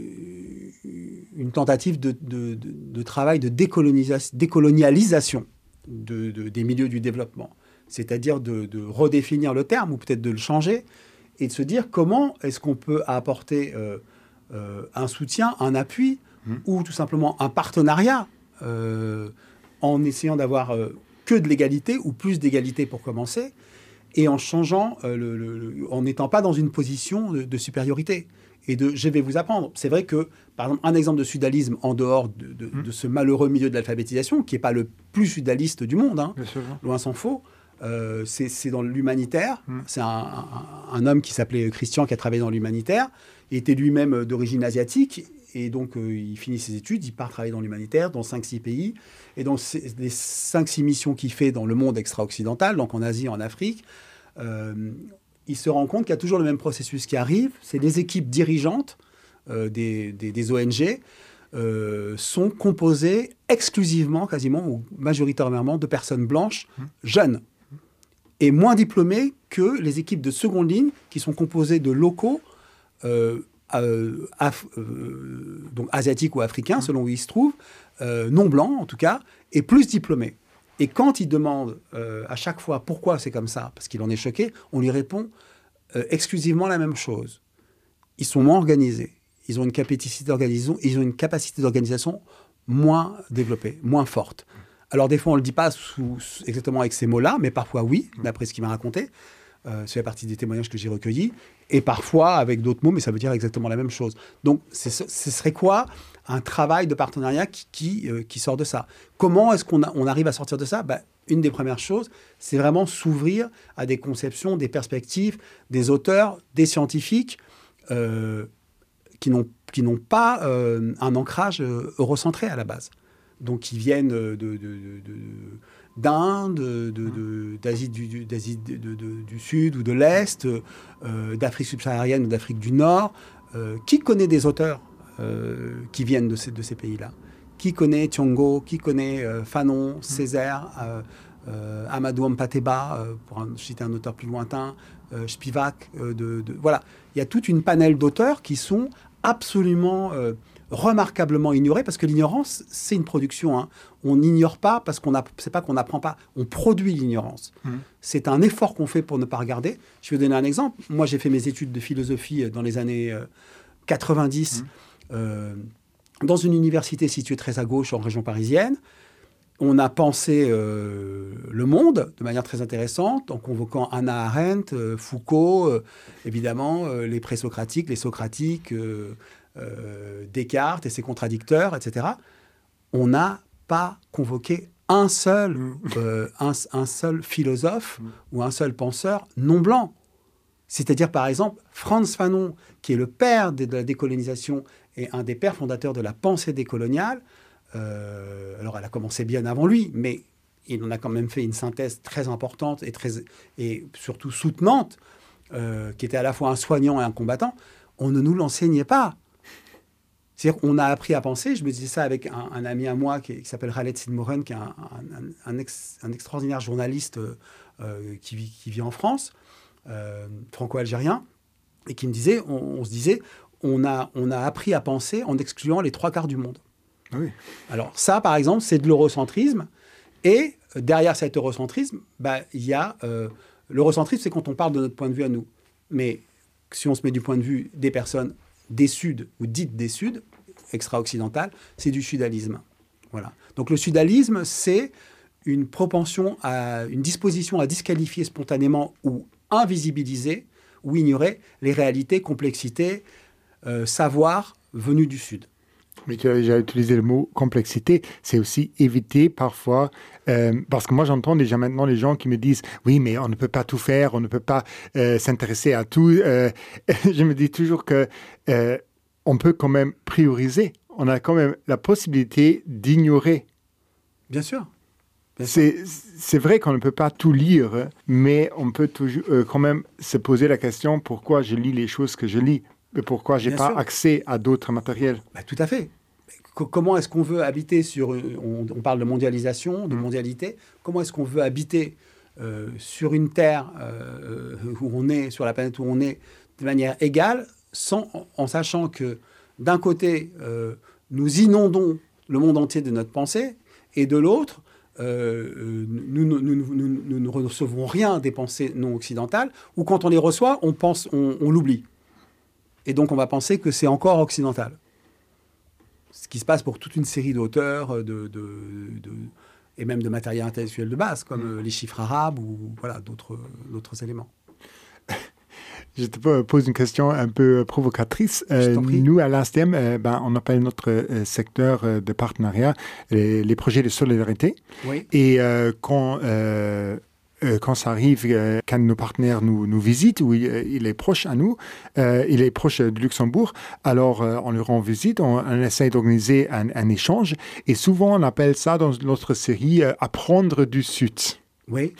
une tentative de, de, de, de travail de décolonisa- décolonialisation de, de, des milieux du développement. c'est-à-dire de, de redéfinir le terme ou peut-être de le changer et de se dire comment est-ce qu'on peut apporter euh, euh, un soutien, un appui mmh. ou tout simplement un partenariat euh, en essayant d'avoir euh, que de l'égalité ou plus d'égalité pour commencer et en changeant, euh, le, le, le, en n'étant pas dans une position de, de supériorité et de je vais vous apprendre. C'est vrai que, par exemple, un exemple de sudalisme en dehors de, de, mmh. de ce malheureux milieu de l'alphabétisation, qui n'est pas le plus sudaliste du monde, hein, loin s'en faut, euh, c'est, c'est dans l'humanitaire. Mmh. C'est un, un, un homme qui s'appelait Christian, qui a travaillé dans l'humanitaire. Il était lui-même d'origine asiatique, et donc euh, il finit ses études, il part travailler dans l'humanitaire, dans cinq six pays. Et dans les cinq six missions qu'il fait dans le monde extra-occidental, donc en Asie, en Afrique, euh, il se rend compte qu'il y a toujours le même processus qui arrive. C'est les équipes dirigeantes euh, des, des, des O N G euh, sont composées exclusivement, quasiment ou majoritairement, de personnes blanches, mmh. jeunes, et moins diplômées que les équipes de seconde ligne qui sont composées de locaux euh, euh, af- euh, donc asiatiques ou africains, mmh. selon où ils se trouvent, euh, non blancs en tout cas, et plus diplômés. Et quand il demande euh, à chaque fois pourquoi c'est comme ça, parce qu'il en est choqué, on lui répond euh, exclusivement la même chose. Ils sont moins organisés. Ils ont une capacité d'organisation, ils ont une capacité d'organisation moins développée, moins forte. Alors des fois, on ne le dit pas sous, sous, exactement avec ces mots-là, mais parfois oui, d'après ce qu'il m'a raconté. Euh, c'est la partie des témoignages que j'ai recueillis. Et parfois avec d'autres mots, mais ça veut dire exactement la même chose. Donc c'est, ce serait quoi un travail de partenariat qui, qui, euh, qui sort de ça. Comment est-ce qu'on a, on arrive à sortir de ça ? Ben, une des premières choses, c'est vraiment s'ouvrir à des conceptions, des perspectives, des auteurs, des scientifiques euh, qui, n'ont, qui n'ont pas euh, un ancrage euh, eurocentré à la base. Donc qui viennent de, de, de, de, d'Inde, de, de, d'Asie, du, d'Asie de, de, de, du Sud ou de l'Est, euh, d'Afrique subsaharienne ou d'Afrique du Nord. Euh, qui connaît des auteurs Euh, qui viennent de ces, de ces pays-là. Qui connaît Thiongo, qui connaît euh, Fanon, Césaire, euh, euh, Amadou Hampâté-Bâ, euh, pour un, citer un auteur plus lointain, euh, Spivak. Euh, de, de, voilà. Il y a toute une panel d'auteurs qui sont absolument euh, remarquablement ignorés, parce que l'ignorance, c'est une production. Hein. On n'ignore pas parce qu'on a, c'est pas qu'on n'apprend pas, on produit l'ignorance. Mmh. C'est un effort qu'on fait pour ne pas regarder. Je vais vous donner un exemple. Moi, j'ai fait mes études de philosophie dans les années euh, quatre-vingt-dix. Mmh. Euh, dans une université située très à gauche en région parisienne. On a pensé euh, le monde de manière très intéressante en convoquant Hannah Arendt, euh, Foucault, euh, évidemment, euh, les présocratiques, les socratiques, euh, euh, Descartes et ses contradicteurs, et cetera. On n'a pas convoqué un seul, euh, un, un seul philosophe ou un seul penseur non blanc. C'est-à-dire, par exemple, Frantz Fanon, qui est le père de la décolonisation et un des pères fondateurs de la pensée décoloniale. Euh, alors, elle a commencé bien avant lui, mais il en a quand même fait une synthèse très importante et, très, et surtout soutenante, euh, qui était à la fois un soignant et un combattant. On ne nous l'enseignait pas. C'est-à-dire qu'on a appris à penser. Je me disais ça avec un, un ami à moi qui, qui s'appelle Khaled Sidmoren, qui est un, un, un, ex, un extraordinaire journaliste euh, qui, vit, qui vit en France, euh, franco-algérien, et qui me disait, on, on se disait... On a, on a appris à penser en excluant les trois quarts du monde. Oui. Alors ça, par exemple, c'est de l'eurocentrisme. Et euh, derrière cet eurocentrisme, bah, il y a... Euh, l'eurocentrisme, c'est quand on parle de notre point de vue à nous. Mais si on se met du point de vue des personnes des Suds ou dites des Suds, extra-occidentales, c'est du sudalisme. Voilà. Donc le sudalisme, c'est une propension, à, une disposition à disqualifier spontanément ou invisibiliser ou ignorer les réalités, complexités, Euh, savoir venu du Sud. Mais tu as déjà utilisé le mot complexité, c'est aussi éviter parfois, euh, parce que moi j'entends déjà maintenant les gens qui me disent « Oui, mais on ne peut pas tout faire, on ne peut pas euh, s'intéresser à tout. Euh, » Je me dis toujours qu'on euh, peut quand même prioriser, on a quand même la possibilité d'ignorer. Bien sûr. Bien c'est, sûr. c'est vrai qu'on ne peut pas tout lire, mais on peut toujours, euh, quand même se poser la question pourquoi je lis les choses que je lis. Mais pourquoi je n'ai pas sûr. accès à d'autres matériels ? Bah, tout à fait. C- comment est-ce qu'on veut habiter sur... On, on parle de mondialisation, de mondialité. Comment est-ce qu'on veut habiter euh, sur une terre euh, où on est, sur la planète où on est, de manière égale, sans, en, en sachant que, d'un côté, euh, nous inondons le monde entier de notre pensée, et de l'autre, euh, nous, nous, nous, nous, nous ne recevons rien des pensées non occidentales, ou quand on les reçoit, on, pense, on, on l'oublie. Et donc, on va penser que c'est encore occidental. Ce qui se passe pour toute une série d'auteurs, de, de, de, et même de matériel intellectuel de base, comme mmh. les chiffres arabes ou voilà, d'autres, d'autres éléments. Je te pose une question un peu provocatrice. Euh, nous, à l'A S T M, euh, ben, on appelle notre euh, secteur euh, de partenariat les, les projets de solidarité. Oui. Et euh, quand, euh, euh, quand ça arrive, euh, quand nos partenaires nous, nous visitent, ou il, il est proche à nous, euh, il est proche de Luxembourg, alors euh, on lui rend visite, on, on essaie d'organiser un, un échange. Et souvent, on appelle ça dans notre série euh, « Apprendre du Sud ». Oui.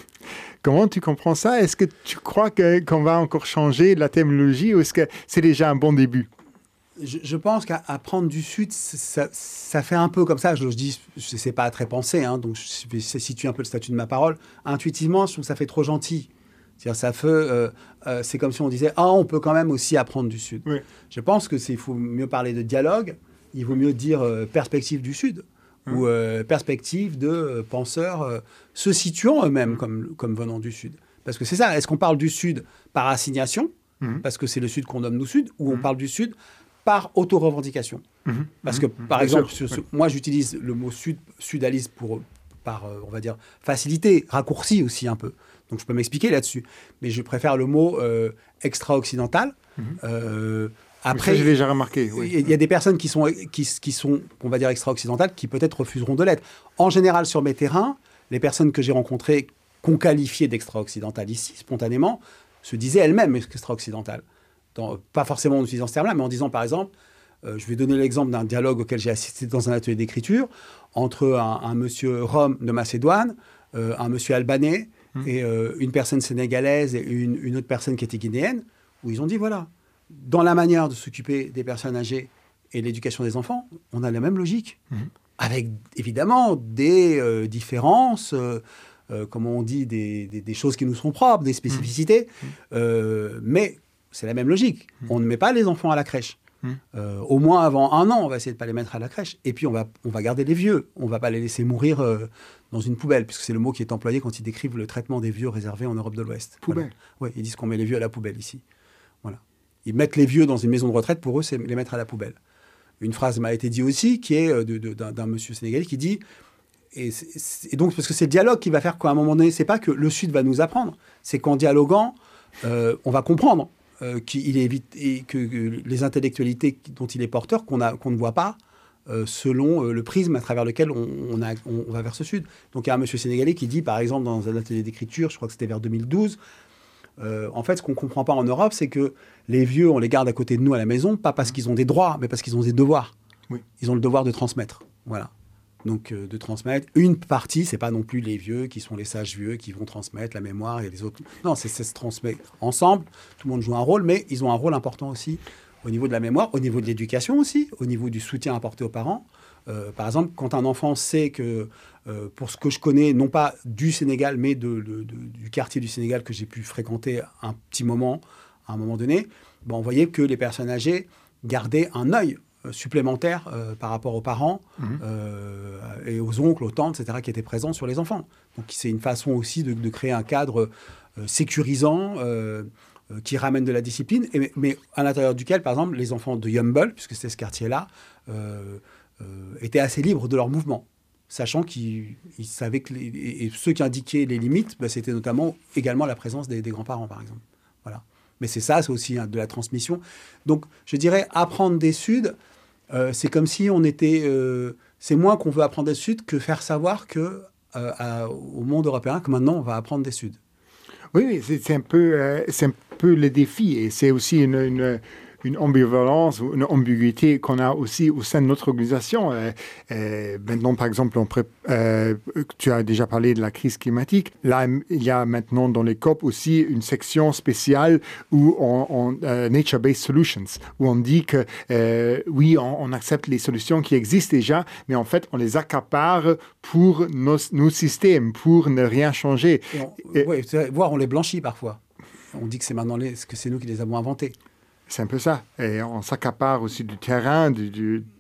Comment tu comprends ça? Est-ce que tu crois que, qu'on va encore changer la terminologie ou est-ce que c'est déjà un bon début? Je, je pense qu'apprendre du Sud, ça, ça fait un peu comme ça. Je, je dis, je sais pas très penser, hein, donc je vais situer un peu le statut de ma parole. Intuitivement, je trouve que ça fait trop gentil. C'est-à-dire, ça fait, euh, euh, c'est comme si on disait, ah, on peut quand même aussi apprendre du Sud. Oui. Je pense que c'est, il faut mieux parler de dialogue. Il vaut mieux dire euh, perspective du Sud. Ou euh, perspective de euh, penseurs euh, se situant eux-mêmes mmh. comme, comme venant du Sud. Parce que c'est ça, est-ce qu'on parle du Sud par assignation, mmh. parce que c'est le Sud qu'on nomme nous Sud, ou mmh. on parle du Sud par auto-revendication mmh. Parce que, par mmh. exemple, sur, sur, moi j'utilise le mot Sud, sudaliste pour, par, euh, on va dire, facilité, raccourci aussi un peu. Donc je peux m'expliquer là-dessus. Mais je préfère le mot euh, extra-occidental. Mmh. Euh, Après, j'ai déjà remarqué. Oui. Il y a des personnes qui sont, qui, qui sont, on va dire, extra-occidentales, qui peut-être refuseront de l'être. En général, sur mes terrains, les personnes que j'ai rencontrées, qu'on qualifiait d'extra-occidentales ici, spontanément, se disaient elles-mêmes extra-occidentales. Dans, pas forcément en utilisant ce terme-là, mais en disant, par exemple, euh, je vais donner l'exemple d'un dialogue auquel j'ai assisté dans un atelier d'écriture, entre un, un monsieur Rom de Macédoine, euh, un monsieur albanais, mmh. et euh, une personne sénégalaise et une, une autre personne qui était guinéenne, où ils ont dit, voilà, dans la manière de s'occuper des personnes âgées et l'éducation des enfants, on a la même logique. Mmh. Avec, évidemment, des euh, différences, euh, euh, comme on dit, des, des, des choses qui nous sont propres, des spécificités. Mmh. Euh, mais c'est la même logique. Mmh. On ne met pas les enfants à la crèche. Mmh. Euh, au moins avant un an, on va essayer de ne pas les mettre à la crèche. Et puis, on va, on va garder les vieux. On ne va pas les laisser mourir euh, dans une poubelle, puisque c'est le mot qui est employé quand ils décrivent le traitement des vieux réservés en Europe de l'Ouest. Poubelle. Voilà. Oui, ils disent qu'on met les vieux à la poubelle ici. Voilà. Ils mettent les vieux dans une maison de retraite, pour eux, c'est les mettre à la poubelle. Une phrase m'a été dite aussi, qui est de, de, d'un, d'un monsieur sénégalais qui dit, et, et donc parce que c'est le dialogue qui va faire qu'à un moment donné, c'est pas que le Sud va nous apprendre, c'est qu'en dialoguant, euh, on va comprendre euh, qu'il est et que, que les intellectualités dont il est porteur, qu'on, a, qu'on ne voit pas, euh, selon euh, le prisme à travers lequel on, on, a, on, on va vers ce Sud. Donc il y a un monsieur sénégalais qui dit, par exemple, dans un atelier d'écriture, je crois que c'était vers deux mille douze, Euh, en fait, ce qu'on ne comprend pas en Europe, c'est que les vieux, on les garde à côté de nous à la maison, pas parce qu'ils ont des droits, mais parce qu'ils ont des devoirs. Oui. Ils ont le devoir de transmettre. Voilà. Donc, euh, de transmettre une partie, ce n'est pas non plus les vieux qui sont les sages vieux qui vont transmettre la mémoire et les autres. Non, c'est, ça se transmet ensemble. Tout le monde joue un rôle, mais ils ont un rôle important aussi au niveau de la mémoire, au niveau de l'éducation aussi, au niveau du soutien apporté aux parents. Euh, par exemple, quand un enfant sait que, euh, pour ce que je connais, non pas du Sénégal, mais de, de, de, du quartier du Sénégal que j'ai pu fréquenter un petit moment, à un moment donné, ben, on voyait que les personnes âgées gardaient un œil euh, supplémentaire euh, par rapport aux parents mmh. euh, et aux oncles, aux tantes, et cetera, qui étaient présents sur les enfants. Donc c'est une façon aussi de, de créer un cadre euh, sécurisant, euh, euh, qui ramène de la discipline, et, mais à l'intérieur duquel, par exemple, les enfants de Yumble, puisque c'était ce quartier-là, euh, Euh, étaient assez libres de leur mouvement, sachant qu'ils ils savaient que les, et, et ceux qui indiquaient les limites, bah, c'était notamment également la présence des, des grands-parents, par exemple. Voilà. Mais c'est ça, c'est aussi hein, de la transmission. Donc, je dirais, apprendre des Suds, euh, c'est comme si on était... Euh, c'est moins qu'on veut apprendre des Suds que faire savoir que, euh, à, au monde européen que maintenant, on va apprendre des Suds. Oui, c'est, c'est, un peu, euh, c'est un peu le défi, et c'est aussi une... une... une ambivalence ou une ambiguïté qu'on a aussi au sein de notre organisation. Euh, euh, maintenant, par exemple, on pré- euh, tu as déjà parlé de la crise climatique. Là, il y a maintenant dans les C O P aussi une section spéciale où on, on uh, Nature-Based Solutions, où on dit que euh, oui, on, on accepte les solutions qui existent déjà, mais en fait, on les accapare pour nos, nos systèmes, pour ne rien changer. On, Et, oui, voire on les blanchit parfois. On dit que c'est maintenant les, que c'est nous qui les avons inventés. C'est un peu ça. Et on s'accapare aussi du terrain, du, du,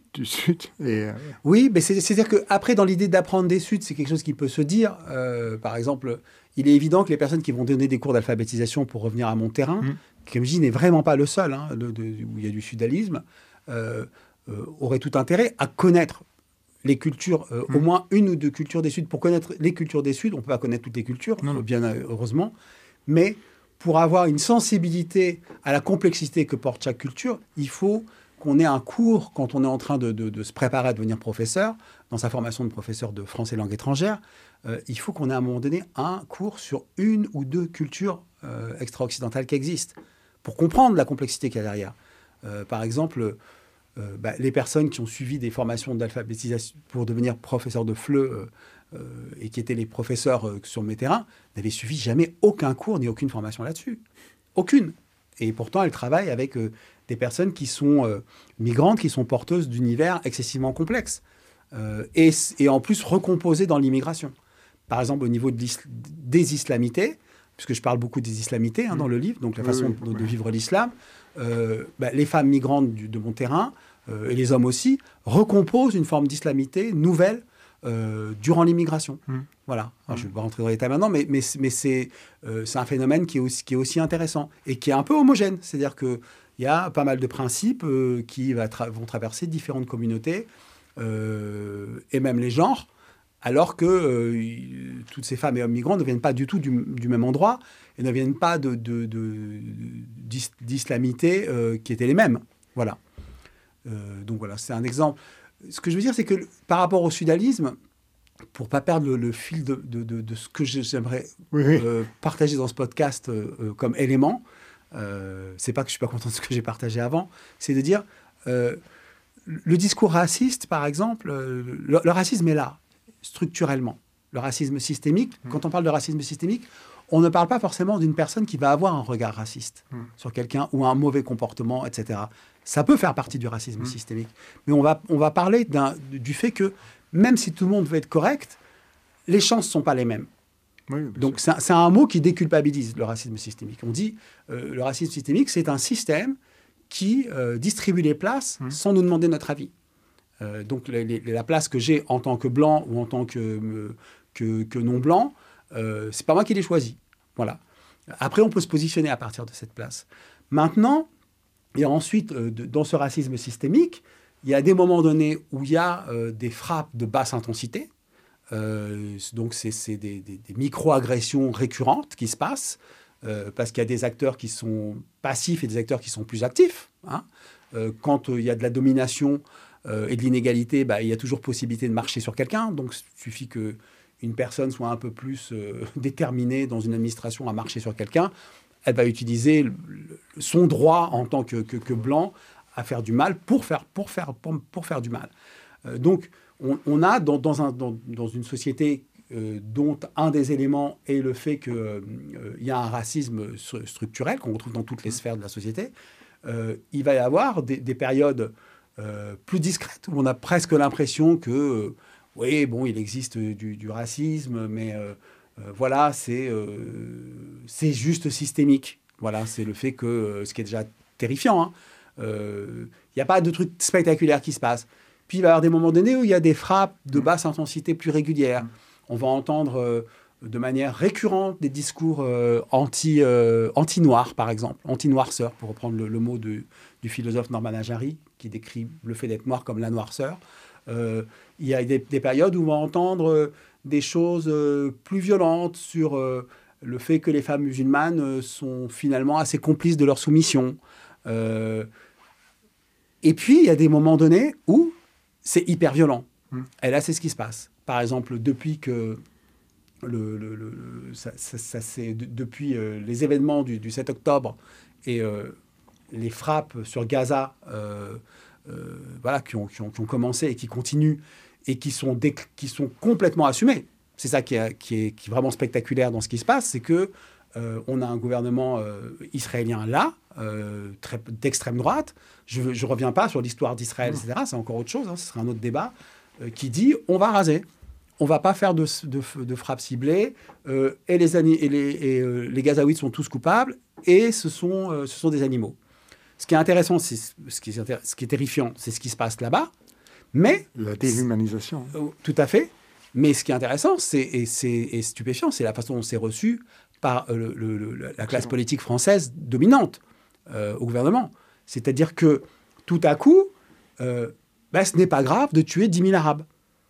du Sud. Et, euh... Oui, mais c'est, c'est-à-dire qu'après, dans l'idée d'apprendre des Suds, c'est quelque chose qui peut se dire. Euh, par exemple, il est évident que les personnes qui vont donner des cours d'alphabétisation pour revenir à mon terrain, mmh. qui, comme je dis, n'est vraiment pas le seul, hein, de, de, où il y a du sudalisme, euh, euh, auraient tout intérêt à connaître les cultures, euh, mmh. au moins une ou deux cultures des Suds. Pour connaître les cultures des Suds, on ne peut pas connaître toutes les cultures, non, non. bien heureusement, mais pour avoir une sensibilité à la complexité que porte chaque culture, il faut qu'on ait un cours, quand on est en train de, de, de se préparer à devenir professeur, dans sa formation de professeur de français langue étrangère, euh, il faut qu'on ait à un moment donné un cours sur une ou deux cultures euh, extra-occidentales qui existent, pour comprendre la complexité qu'il y a derrière. Euh, par exemple, euh, bah, les personnes qui ont suivi des formations d'alphabétisation pour devenir professeur de F L E euh, euh, et qui étaient les professeurs euh, sur mes terrains, n'avaient suivi jamais aucun cours ni aucune formation là-dessus. Aucune. Et pourtant, elles travaillent avec euh, des personnes qui sont euh, migrantes, qui sont porteuses d'univers excessivement complexes. Euh, et, et en plus recomposées dans l'immigration. Par exemple, au niveau de des islamités, puisque je parle beaucoup des islamités hein, mmh. dans le livre, donc la façon oui, oui, de, de vivre l'islam, euh, bah, les femmes migrantes du, de mon terrain, euh, et les hommes aussi, recomposent une forme d'islamité nouvelle euh, durant l'immigration. Mmh. Voilà. Alors, mmh. je ne vais pas rentrer dans les détails maintenant, mais, mais, mais c'est, euh, c'est un phénomène qui est, aussi, qui est aussi intéressant et qui est un peu homogène. C'est-à-dire qu'il y a pas mal de principes euh, qui va tra- vont traverser différentes communautés euh, et même les genres, alors que euh, toutes ces femmes et hommes migrants ne viennent pas du tout du, du même endroit et ne viennent pas de, de, de, d'is, d'islamités euh, qui étaient les mêmes. Voilà. Euh, donc voilà, c'est un exemple. Ce que je veux dire, c'est que par rapport au sudalisme, pour ne pas perdre le, le fil de, de, de, de ce que j'aimerais oui, oui. Euh, partager dans ce podcast euh, comme élément, euh, c'est pas que je ne suis pas content de ce que j'ai partagé avant, c'est de dire, euh, le discours raciste, par exemple, euh, le, le racisme est là, structurellement. Le racisme systémique, mmh. quand on parle de racisme systémique, on ne parle pas forcément d'une personne qui va avoir un regard raciste mmh. sur quelqu'un ou un mauvais comportement, et cetera. Ça peut faire partie du racisme mmh. systémique. Mais on va, on va parler d'un, du fait que même si tout le monde veut être correct, les chances ne sont pas les mêmes. Oui, donc c'est, c'est un mot qui déculpabilise le racisme systémique. On dit euh, le racisme systémique, c'est un système qui euh, distribue les places mmh. sans nous demander notre avis. Euh, donc les, les, la place que j'ai en tant que blanc ou en tant que, euh, que, que non-blanc, euh, c'est pas moi qui l'ai choisi. Voilà. Après, on peut se positionner à partir de cette place. Maintenant, et ensuite, euh, de, dans ce racisme systémique, il y a des moments donnés où il y a euh, des frappes de basse intensité. Euh, donc, c'est, c'est des, des, des micro-agressions récurrentes qui se passent euh, parce qu'il y a des acteurs qui sont passifs et des acteurs qui sont plus actifs. Hein. Euh, quand euh, il y a de la domination euh, et de l'inégalité, bah, il y a toujours possibilité de marcher sur quelqu'un. Donc, il suffit qu'une personne soit un peu plus euh, déterminée dans une administration à marcher sur quelqu'un. Elle va utiliser le, le, son droit en tant que, que, que blanc à faire du mal pour faire, pour faire, pour, pour faire du mal. Euh, donc, on, on a dans, dans, un, dans, dans une société euh, dont un des éléments est le fait qu'il euh, y a un racisme structurel qu'on retrouve dans toutes les sphères de la société, euh, il va y avoir des, des périodes euh, plus discrètes où on a presque l'impression que, euh, oui, bon, il existe du, du racisme, mais euh, euh, voilà, c'est, euh, c'est juste systémique. Voilà, c'est le fait que, euh, ce qui est déjà terrifiant, hein, il euh, n'y a pas de truc spectaculaire qui se passe. Puis il va y avoir des moments donnés où il y a des frappes de basse intensité plus régulières. On va entendre euh, de manière récurrente des discours euh, anti, euh, anti-noirs, par exemple, anti-noirceur, pour reprendre le, le mot de, du philosophe Norman Ajari, qui décrit le fait d'être noir comme la noirceur. Euh, il y a des, des périodes où on va entendre euh, des choses euh, plus violentes sur euh, le fait que les femmes musulmanes euh, sont finalement assez complices de leur soumission. Euh, et puis, il y a des moments donnés où c'est hyper violent. Mmh. Et là, c'est ce qui se passe. Par exemple, depuis que le, le, le, ça, ça, ça, c'est de, depuis euh, les événements du, du sept octobre et euh, les frappes sur Gaza, euh, euh, voilà, qui ont, qui, ont, qui ont commencé et qui continuent et qui sont, dé, qui sont complètement assumées. C'est ça qui est, qui, est, qui est vraiment spectaculaire dans ce qui se passe, c'est que euh, on a un gouvernement euh, israélien là, euh, très, d'extrême droite. Je ne reviens pas sur l'histoire d'Israël, et cetera. C'est encore autre chose, hein, ce sera un autre débat, euh, qui dit on va raser. On ne va pas faire de, de, de frappes ciblées, euh, et, les, et, les, et euh, les Gazaouites sont tous coupables, et ce sont, euh, ce sont des animaux. Ce qui est intéressant, c'est, ce, qui est, ce qui est terrifiant, c'est ce qui se passe là-bas, Mais... La déshumanisation. Euh, tout à fait. Mais ce qui est intéressant c'est, et, c'est, et stupéfiant, c'est la façon dont c'est reçu par euh, le, le, le, la classe politique française dominante euh, au gouvernement. C'est-à-dire que tout à coup, euh, ben, ce n'est pas grave de tuer dix mille Arabes.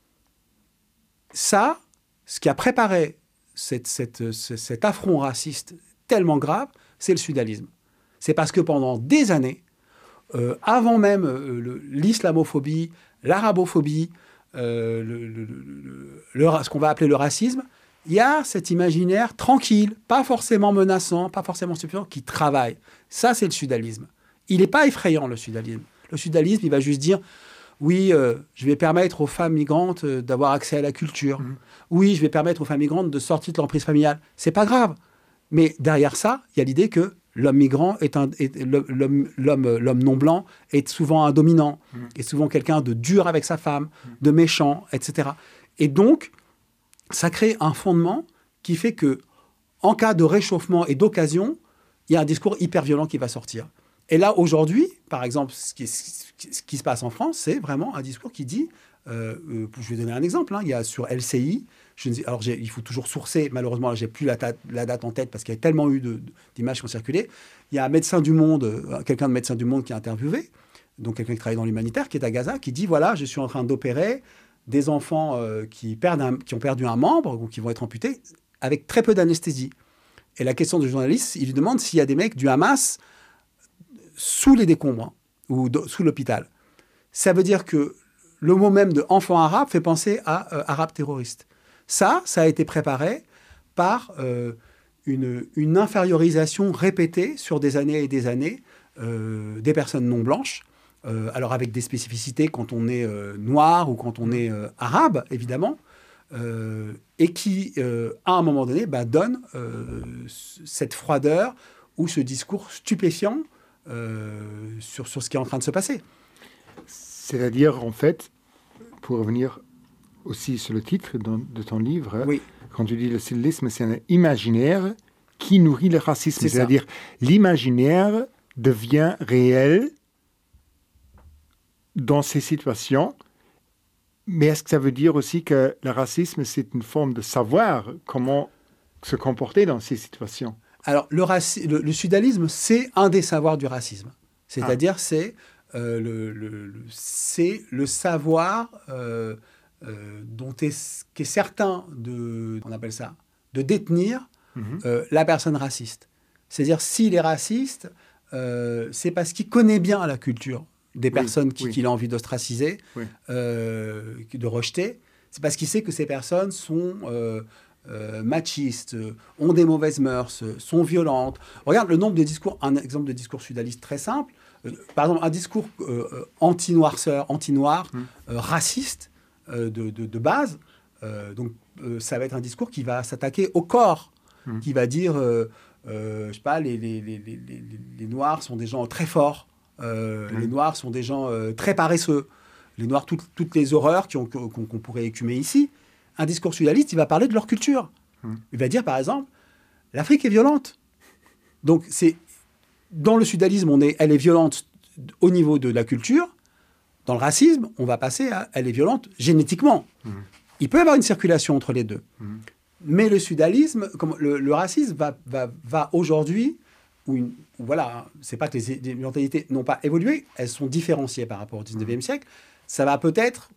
Ça, ce qui a préparé cette, cette, cet affront raciste tellement grave, c'est le sudalisme. C'est parce que pendant des années, euh, avant même euh, le, l'islamophobie, l'arabophobie, euh, le, le, le, le, ce qu'on va appeler le racisme, il y a cet imaginaire tranquille, pas forcément menaçant, pas forcément stupéfiant, qui travaille. Ça, c'est le sudalisme. Il n'est pas effrayant, le sudalisme. Le sudalisme, il va juste dire, oui, euh, je vais permettre aux femmes migrantes euh, d'avoir accès à la culture. Mmh. Oui, je vais permettre aux femmes migrantes de sortir de l'emprise familiale. C'est pas grave. Mais derrière ça, il y a l'idée que l'homme migrant est un, est, l'homme, l'homme, l'homme non blanc est souvent un dominant, mmh. est souvent quelqu'un de dur avec sa femme, mmh. de méchant, et cetera. Et donc, ça crée un fondement qui fait que, en cas de réchauffement et d'occasion, il y a un discours hyper violent qui va sortir. Et là, aujourd'hui, par exemple, ce qui, ce qui se passe en France, c'est vraiment un discours qui dit, euh, euh, je vais donner un exemple, hein, il y a sur L C I, je ne sais, alors il faut toujours sourcer, malheureusement, je n'ai plus la, ta, la date en tête parce qu'il y a tellement eu de, de, d'images qui ont circulé. Il y a un médecin du Monde, euh, quelqu'un de Médecins du Monde qui a interviewé, donc quelqu'un qui travaille dans l'humanitaire, qui est à Gaza, qui dit, voilà, je suis en train d'opérer des enfants euh, qui, perdent un, qui ont perdu un membre ou qui vont être amputés avec très peu d'anesthésie. Et la question du journaliste, il lui demande s'il y a des mecs du Hamas sous les décombres ou de, sous l'hôpital. Ça veut dire que le mot même de enfant arabe fait penser à euh, arabe terroriste. Ça, ça a été préparé par euh, une, une infériorisation répétée sur des années et des années euh, des personnes non blanches. Euh, alors avec des spécificités quand on est euh, noir ou quand on est euh, arabe, évidemment, euh, et qui, euh, à un moment donné, bah, donne euh, cette froideur ou ce discours stupéfiant euh, sur, sur ce qui est en train de se passer. C'est-à-dire, en fait, pour revenir aussi sur le titre de, de ton livre, oui. quand tu dis le sudalisme, c'est un imaginaire qui nourrit le racisme. C'est C'est-à-dire, ça. L'imaginaire devient réel dans ces situations, mais est-ce que ça veut dire aussi que le racisme, c'est une forme de savoir comment se comporter dans ces situations? Alors, le, raci- le, le sudalisme, c'est un des savoirs du racisme. C'est-à-dire, ah. c'est, euh, le, le, le, c'est le savoir euh, euh, dont est, qu'est certain de, on appelle ça, de détenir mm-hmm. euh, la personne raciste. C'est-à-dire, s'il est raciste, euh, c'est parce qu'il connaît bien la culture des personnes oui, qui, oui. qu'il a envie d'ostraciser, oui. euh, de rejeter. C'est parce qu'il sait que ces personnes sont euh, euh, machistes, ont des mauvaises mœurs, sont violentes. Regarde le nombre de discours, un exemple de discours sudaliste très simple, euh, par exemple un discours euh, anti-noirceur, anti-noir, hum. euh, raciste euh, de, de, de base. Euh, donc euh, ça va être un discours qui va s'attaquer au corps, hum. qui va dire, euh, euh, je sais pas, les, les, les, les, les, les Noirs sont des gens très forts. Euh, mmh. Les Noirs sont des gens euh, très paresseux. Les Noirs, tout, toutes les horreurs qu'on, qu'on, qu'on pourrait écumer ici. Un discours sudaliste, il va parler de leur culture. Mmh. Il va dire, par exemple, l'Afrique est violente. Donc, c'est, dans le sudalisme, on est, elle est violente au niveau de la culture. Dans le racisme, on va passer à elle est violente génétiquement. Mmh. Il peut y avoir une circulation entre les deux. Mmh. Mais le sudalisme, comme le, le racisme va, va, va aujourd'hui... Où une, où voilà, c'est pas que les, les mentalités n'ont pas évolué, elles sont différenciées par rapport au dix-neuvième siècle. Ça va peut-être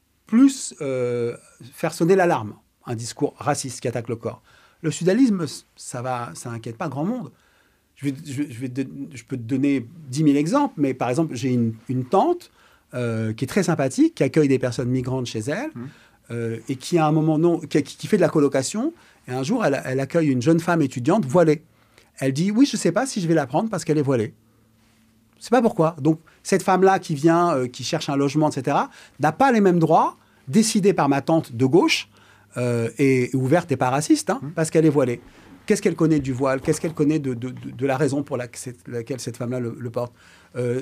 plus euh, faire sonner l'alarme, un discours raciste qui attaque le corps. Le sudalisme, ça va, ça n'inquiète pas grand monde. Je, vais, je, je, vais de, je peux te donner dix mille exemples, mais par exemple, j'ai une, une tante euh, qui est très sympathique, qui accueille des personnes migrantes chez elle, mmh. euh, et qui, à un moment, non, qui, qui fait de la colocation, et un jour, elle, elle accueille une jeune femme étudiante voilée. Elle dit, oui, je ne sais pas si je vais la prendre parce qu'elle est voilée. Je ne sais pas pourquoi. Donc, cette femme-là qui vient, euh, qui cherche un logement, et cetera, n'a pas les mêmes droits, décidés par ma tante de gauche, euh, et, et ouverte et pas raciste, hein, mmh. parce qu'elle est voilée. Qu'est-ce qu'elle connaît du voile? Qu'est-ce qu'elle connaît de, de, de, de la raison pour la, laquelle cette femme-là le, le porte? euh,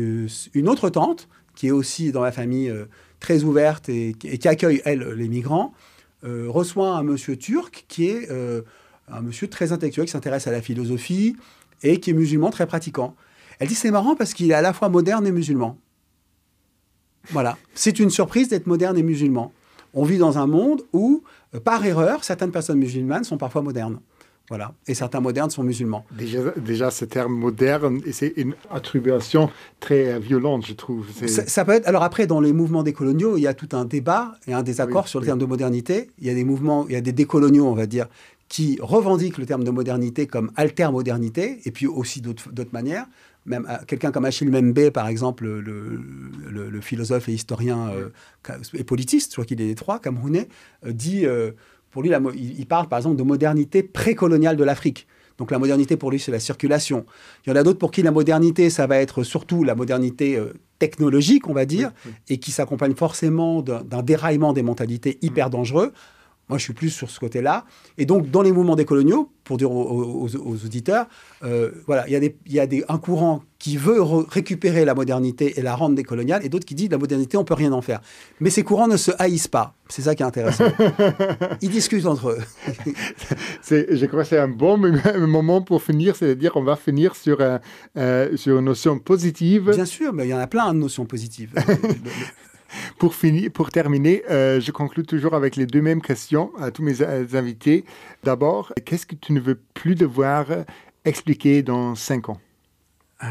Une autre tante, qui est aussi dans la famille euh, très ouverte et, et qui accueille, elle, les migrants, euh, reçoit un monsieur turc qui est... Euh, un monsieur très intellectuel qui s'intéresse à la philosophie et qui est musulman très pratiquant. Elle dit c'est marrant parce qu'il est à la fois moderne et musulman. Voilà. C'est une surprise d'être moderne et musulman. On vit dans un monde où, euh, par erreur, certaines personnes musulmanes sont parfois modernes. Voilà. Et certains modernes sont musulmans. Déjà, déjà ce terme moderne, c'est une attribution très euh, violente, je trouve. Ça, ça peut être. Alors après, dans les mouvements décoloniaux, il y a tout un débat et un désaccord oui, sur le oui. terme de modernité. Il y a des mouvements, il y a des décoloniaux, on va dire, qui revendiquent le terme de modernité comme alter-modernité, et puis aussi d'autres, d'autres manières. Même euh, quelqu'un comme Achille Mbembe, par exemple, le, le, le philosophe et historien euh, et politiste, je crois qu'il est des trois, camerounais, euh, dit... Euh, Pour lui, la, il parle par exemple de modernité précoloniale de l'Afrique. Donc la modernité pour lui, c'est la circulation. Il y en a d'autres pour qui la modernité, ça va être surtout la modernité euh, technologique, on va dire, oui, oui. et qui s'accompagne forcément d'un, d'un déraillement des mentalités hyper dangereux. Moi, je suis plus sur ce côté-là. Et donc, dans les mouvements décoloniaux, pour dire aux, aux, aux auditeurs, euh, voilà, il y a, des, il y a des, un courant qui veut re- récupérer la modernité et la rendre décoloniale, et d'autres qui disent la modernité, on ne peut rien en faire. Mais ces courants ne se haïssent pas. C'est ça qui est intéressant. Ils discutent entre eux. c'est, je crois que c'est un bon moment pour finir, c'est-à-dire qu'on va finir sur, euh, euh, sur une notion positive. Bien sûr, mais il y en a plein de notions positives. Pour, finir, pour terminer, euh, je conclue toujours avec les deux mêmes questions à tous mes euh, invités. D'abord, qu'est-ce que tu ne veux plus devoir expliquer dans cinq ans? ah.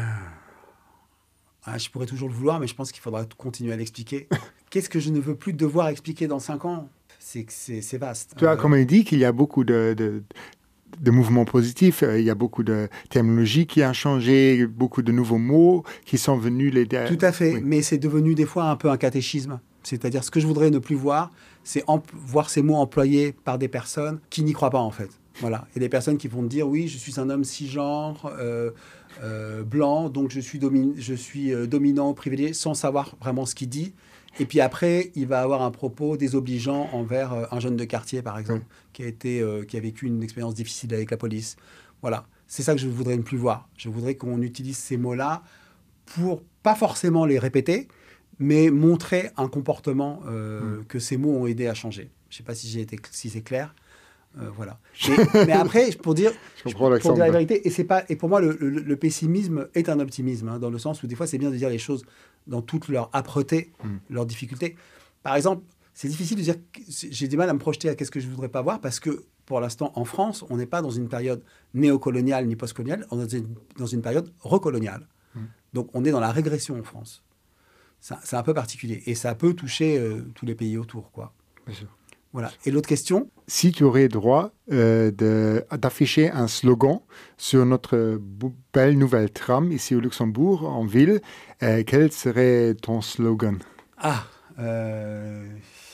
Ah, je pourrais toujours le vouloir, mais je pense qu'il faudra continuer à l'expliquer. Qu'est-ce que je ne veux plus devoir expliquer dans cinq ans? C'est, c'est, c'est vaste. Tu as euh... comme il dit qu'il y a beaucoup de... de... de mouvements positifs, il y a beaucoup de terminologie qui a changé, beaucoup de nouveaux mots qui sont venus les... Tout à fait, oui. Mais c'est devenu des fois un peu un catéchisme. C'est-à-dire, ce que je voudrais ne plus voir, c'est emp- voir ces mots employés par des personnes qui n'y croient pas, en fait. Voilà. Il y a des personnes qui vont te dire, oui, je suis un homme cisgenre, euh, euh, blanc, donc je suis, domi- je suis euh, dominant, privilégié, sans savoir vraiment ce qu'il dit. Et puis après, il va avoir un propos désobligeant envers euh, un jeune de quartier, par exemple, mmh. qui a été, euh, qui a vécu une expérience difficile avec la police. Voilà, c'est ça que je voudrais ne plus voir. Je voudrais qu'on utilise ces mots-là pour, pas forcément les répéter, mais montrer un comportement euh, mmh. que ces mots ont aidé à changer. Je ne sais pas si, j'ai été, si c'est clair. Euh, voilà. Mais, mais après, pour dire, je pour dire la vérité, et, c'est pas, et pour moi, le, le, le pessimisme est un optimisme, hein, dans le sens où des fois, c'est bien de dire les choses dans toute leur âpreté, mm. leur difficulté. Par exemple, c'est difficile de dire, j'ai du mal à me projeter à qu'est-ce que je ne voudrais pas voir, parce que pour l'instant, en France, on n'est pas dans une période néocoloniale ni postcoloniale, on est dans une, dans une période recoloniale. Mm. Donc, on est dans la régression en France. Ça, c'est un peu particulier. Et ça peut toucher euh, tous les pays autour, quoi. Bien sûr. Voilà. Et l'autre question? Si tu aurais droit euh, de, d'afficher un slogan sur notre belle nouvelle tram ici au Luxembourg, en ville, euh, quel serait ton slogan? Ah, euh...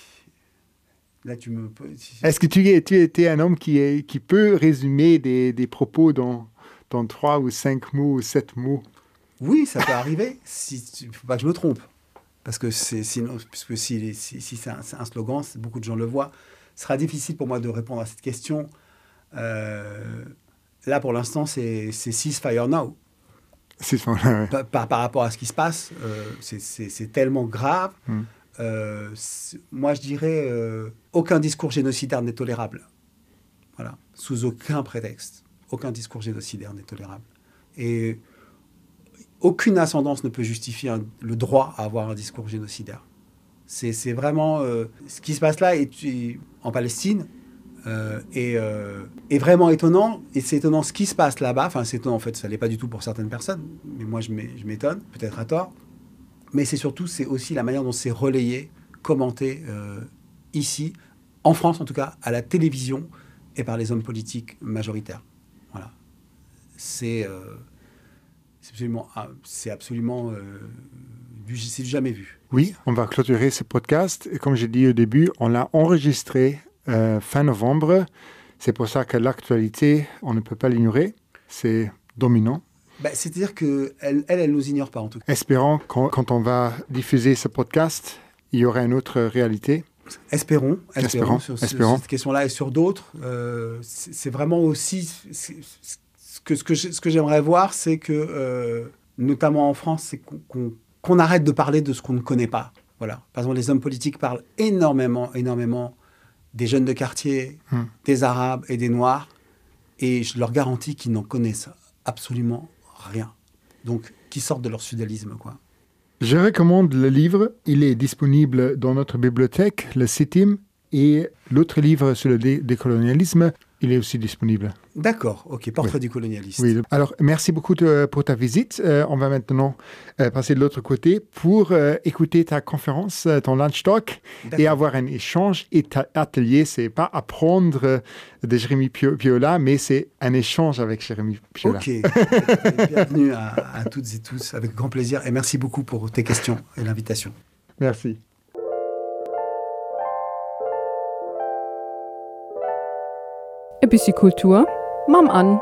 là tu me... Est-ce que tu es, tu es un homme qui, est, qui peut résumer des, des propos dans, dans trois ou cinq mots ou sept mots? Oui, ça peut arriver. Il si, ne faut pas que je me trompe. Parce que c'est, sinon, puisque si, si, si c'est, un, c'est un slogan, beaucoup de gens le voient, ce sera difficile pour moi de répondre à cette question. Euh, là, pour l'instant, c'est, c'est Ceasefire Now. Ceasefire, ouais. par, par, par rapport à ce qui se passe, euh, c'est, c'est, c'est tellement grave. Mm. Euh, moi, je dirais, euh, aucun discours génocidaire n'est tolérable. Voilà, sous aucun prétexte. Aucun discours génocidaire n'est tolérable. Et... aucune ascendance ne peut justifier un, le droit à avoir un discours génocidaire. C'est, c'est vraiment... Euh, ce qui se passe là est, est, en Palestine euh, est, euh, est vraiment étonnant. Et c'est étonnant ce qui se passe là-bas. Enfin, c'est étonnant, en fait, ça ne l'est pas du tout pour certaines personnes. Mais moi, je, je m'étonne, peut-être à tort. Mais c'est surtout, c'est aussi la manière dont c'est relayé, commenté euh, ici, en France en tout cas, à la télévision et par les hommes politiques majoritaires. Voilà. C'est... Euh, C'est absolument, c'est absolument euh, du, c'est du jamais vu. Oui, on va clôturer ce podcast. Et comme j'ai dit au début, on l'a enregistré euh, fin novembre. C'est pour ça que l'actualité, on ne peut pas l'ignorer. C'est dominant. Bah, c'est-à-dire qu'elle, elle, elle ne nous ignore pas en tout cas. Espérons que quand on va diffuser ce podcast, il y aura une autre réalité. Espérons, espérons, espérons sur, espérons. sur cette question-là et sur d'autres. Euh, c'est, c'est vraiment aussi... C'est, c'est, Que ce, que je, ce que j'aimerais voir, c'est que, euh, notamment en France, c'est qu'on, qu'on, qu'on arrête de parler de ce qu'on ne connaît pas. Voilà. Par exemple, les hommes politiques parlent énormément, énormément des jeunes de quartier, hum. des Arabes et des Noirs, et je leur garantis qu'ils n'en connaissent absolument rien. Donc, qu'ils sortent de leur sudalisme, quoi. Je recommande le livre. Il est disponible dans notre bibliothèque, le CITIM, et l'autre livre sur le dé- décolonialisme, il est aussi disponible. D'accord, ok, Portrait oui. du colonialiste. Oui, alors merci beaucoup de, pour ta visite. Euh, on va maintenant euh, passer de l'autre côté pour euh, écouter ta conférence, euh, ton lunch talk, D'accord. et avoir un échange et ta atelier. C'est pas apprendre euh, de Jérémy Piola, mais c'est un échange avec Jérémy Piola. Ok, bienvenue à, à toutes et tous, avec grand plaisir. Et merci beaucoup pour tes questions et l'invitation. Merci. Ein bisschen Kultur, Mam an.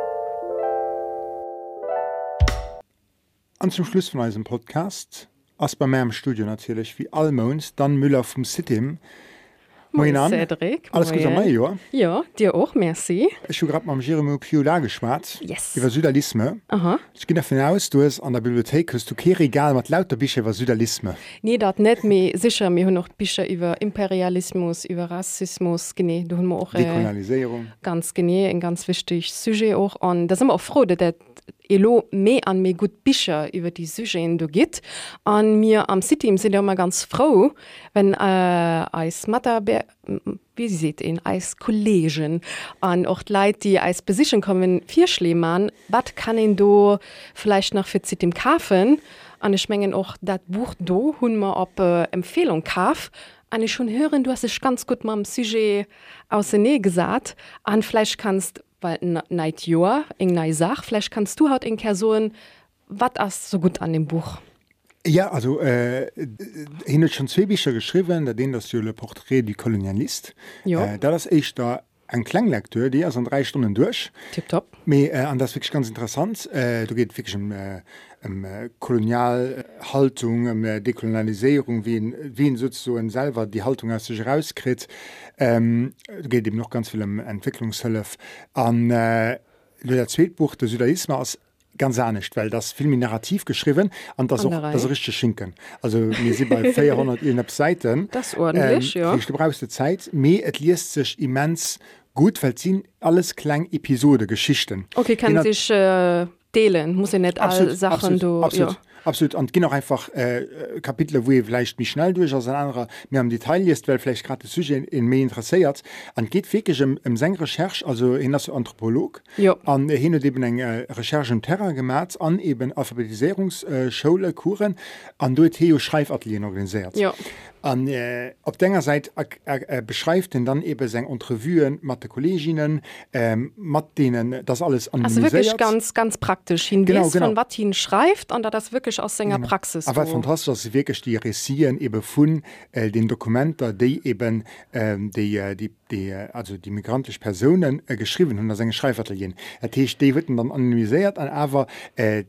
Und zum Schluss von unserem Podcast, aus bei meinem Studio natürlich, wie allmons, dann Müller vom Sitim. Moin an. Cedric. Alles gut an mir, ja? Ja, dir auch, merci. Ich habe gerade mit Jérémy Piola geschwätzt. Yes. Über Südalisme. Aha. Ich gehe davon aus, du hast an der Bibliothek hast du kein Regal mit lauter Bücher über Südalisme. Nee, das nicht, aber sicher, wir haben noch Bücher über Imperialismus, über Rassismus, genau, da haben wir auch... Äh, Dekolonisierung. Ganz genau, ein ganz wichtiges Sujet auch. Und da sind wir auch froh, dass Elo mehr an mehr gut Bücher über die Sujets gibt. Und wir am City sind ja immer ganz froh, wenn äh, als Mathe, wie Sie seht, in als Kollegen und auch die Leute, die als Besichern kommen, vier Schlemann, was kann ich da vielleicht noch für City kaufen? Und ich meine auch, das Buch da haben wir auf äh, Empfehlung gekauft. Und ich schon hören, du hast es ganz gut mit dem Sujet aus der Nähe gesagt. Und vielleicht kannst weil neid Jahr eng nei Sach, vielleicht kannst du halt in Person, was ist so gut an dem Buch? Ja, also äh, ich habe schon zwei Bücher geschrieben, da den das Le Portrait du Colonialiste. Ja. Äh, da ist echt da ein Klanglekteur, die ist in drei Stunden durch. Tipptopp. Aber äh, und das ist wirklich ganz interessant. Äh, da geht wirklich um, äh, um äh, Kolonialhaltung, um äh, Dekolonialisierung, wie ein, wie ein sozusagen selber die Haltung aus sich rauskriegt. Ähm, da geht eben noch ganz viel um Entwicklungshilfe. Und äh, das zweite Buch, der Südalisme, ist ganz ernst, weil das viel mehr narrativ geschrieben und das auch das richtige Schinken. Also wir sind bei vierhundert Seiten. Das ist ordentlich, ähm, ja. Du brauchst die Zeit, aber es liest sich immens gut, weil es sind alles kleine Episode, Geschichten. Okay, kann Genau. sich äh, teilen, muss ja nicht alle Sachen absolut, du... Absolut. Ja. Absolut. Und gehen auch einfach äh, Kapitel, wo ihr vielleicht mich schnell durch als ein anderer mehr im Detail liest, weil vielleicht gerade das Sujet in mehr interessiert. Und geht wirklich um, um seine Recherche, also er ist Anthropolog. Ja. Und er hat eben eine Recherche im Terrain gemacht, an eben Alphabetisierungsschule, Kuren, und dort Theo Schreifatelier organisiert. Ja. Und äh, auf der Seite er, er, er beschreibt er dann eben seine Entrevuen mit den Kolleginnen, ähm, mit denen das alles anonymisiert. Also wirklich ganz, ganz praktisch. Hin Genau, weiß, genau. von was ihn schreibt und das wirklich aus seiner Genau. Praxis. Aber wo- fantastisch, dass wirklich die Réciten eben von äh, den Dokumenten, die eben ähm, die, äh, die, die, äh, also die migrantischen Personen äh, geschrieben haben, das sind Schreifatelier. Das heißt, die werden dann anonymisiert, aber äh,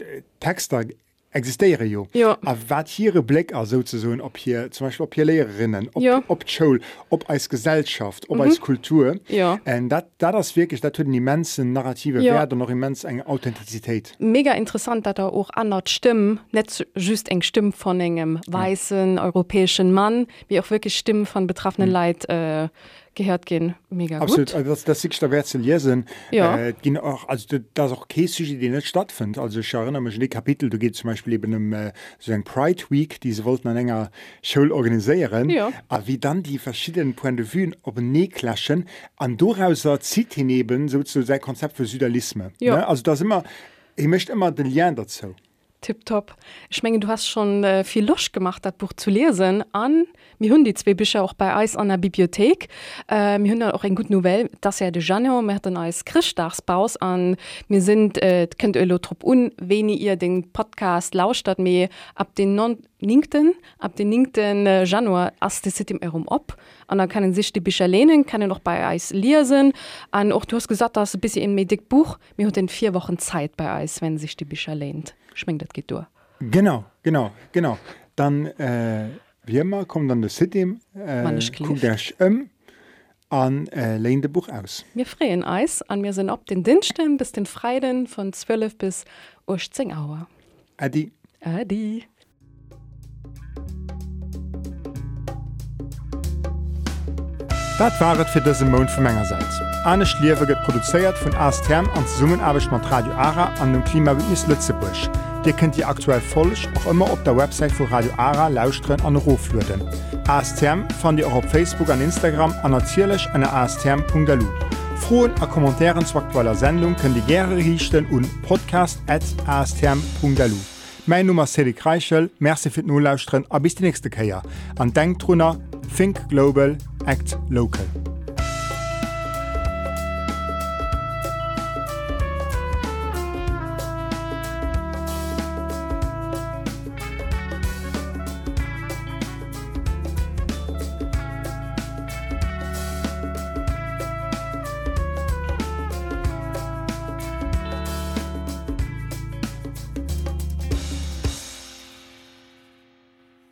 Texte existieren ja. Ja. Aber was hier Blick also sozusagen, ob hier zum Beispiel ob hier Lehrerinnen, ob, Ja. ob die Schule, ob als Gesellschaft, ob als Kultur. Ja. Und das ist wirklich, das hat einen immensen narrative Ja. Wert und auch immens eine Authentizität. Mega interessant, dass er auch andere Stimmen, nicht just eng Stimmen von einem weißen europäischen Mann, wie auch wirklich Stimmen von betroffenen mhm. Leuten äh, gehört gehen. Mega Absolut, gut. also das, das ist der Wert zu lesen. Ja. Äh, gehen auch, also das ist auch kein Sujet, die nicht stattfindet. Also ich erinnere mich an die Kapitel, da geht zum Beispiel eben um äh, so ein Pride Week, die sie wollten an einer Schule organisieren. Ja. Aber wie dann die verschiedenen Point de vue auf den Nähe klaschen, und daraus zieht hineben sozusagen sein Konzept für Südalisme. Ja. Ne? Also das ist immer, ich möchte immer den Lern dazu. Tipptopp. Ich meine, du hast schon äh, viel Lust gemacht, das Buch zu lesen. An, wir haben die zwei Bücher auch bei uns an der Bibliothek. Äh, wir haben auch eine gute Novelle, das ist ja de Januar, wir hatten als Christdagsbaus an. Wir sind, äh, könnt ihr trop un, wenn ihr den Podcast lauscht, mir ab den neunten ab den neunten Januar ist das City herum ab. Und dann können sich die Bücher lehnen, können auch bei uns lesen. Und auch du hast gesagt, das ist ein bisschen ein medic Buch. Wir haben vier Wochen Zeit bei uns, wenn sich die Bücher lehnt. Ich meine, das geht durch. Genau, genau, genau. Dann, äh, wie immer, kommt dann das City, äh, Wann ich guckt euch um und äh, lehnt das Buch aus. Wir freuen uns und wir sind ab den Diensten bis den Freitag von zwölf bis achtzehn Uhr. Adi. Adi. Das war es für diesen Monat von meiner Seite. Anne Schliewe wird produziert von A S Therm und Zusammenarbeit mit Radio Ara an dem Klimabündnis Lützeburg. Dir könnt ihr aktuell folch auch immer op der Website vu Radio Ara lausren an Rofluden. A S T M fand ihr auch auf Facebook an Instagram an natierlech an a s t m punkt d e l u. Froen a Kommentaren zu aktueller Sendung können die gerne richten und podcast at a s t m punkt d e l u. Mein Nummer ist Cedric Reichel, merci für den Lauschtren, a bis die nächste Keier. An denkt drunter, think global, act local.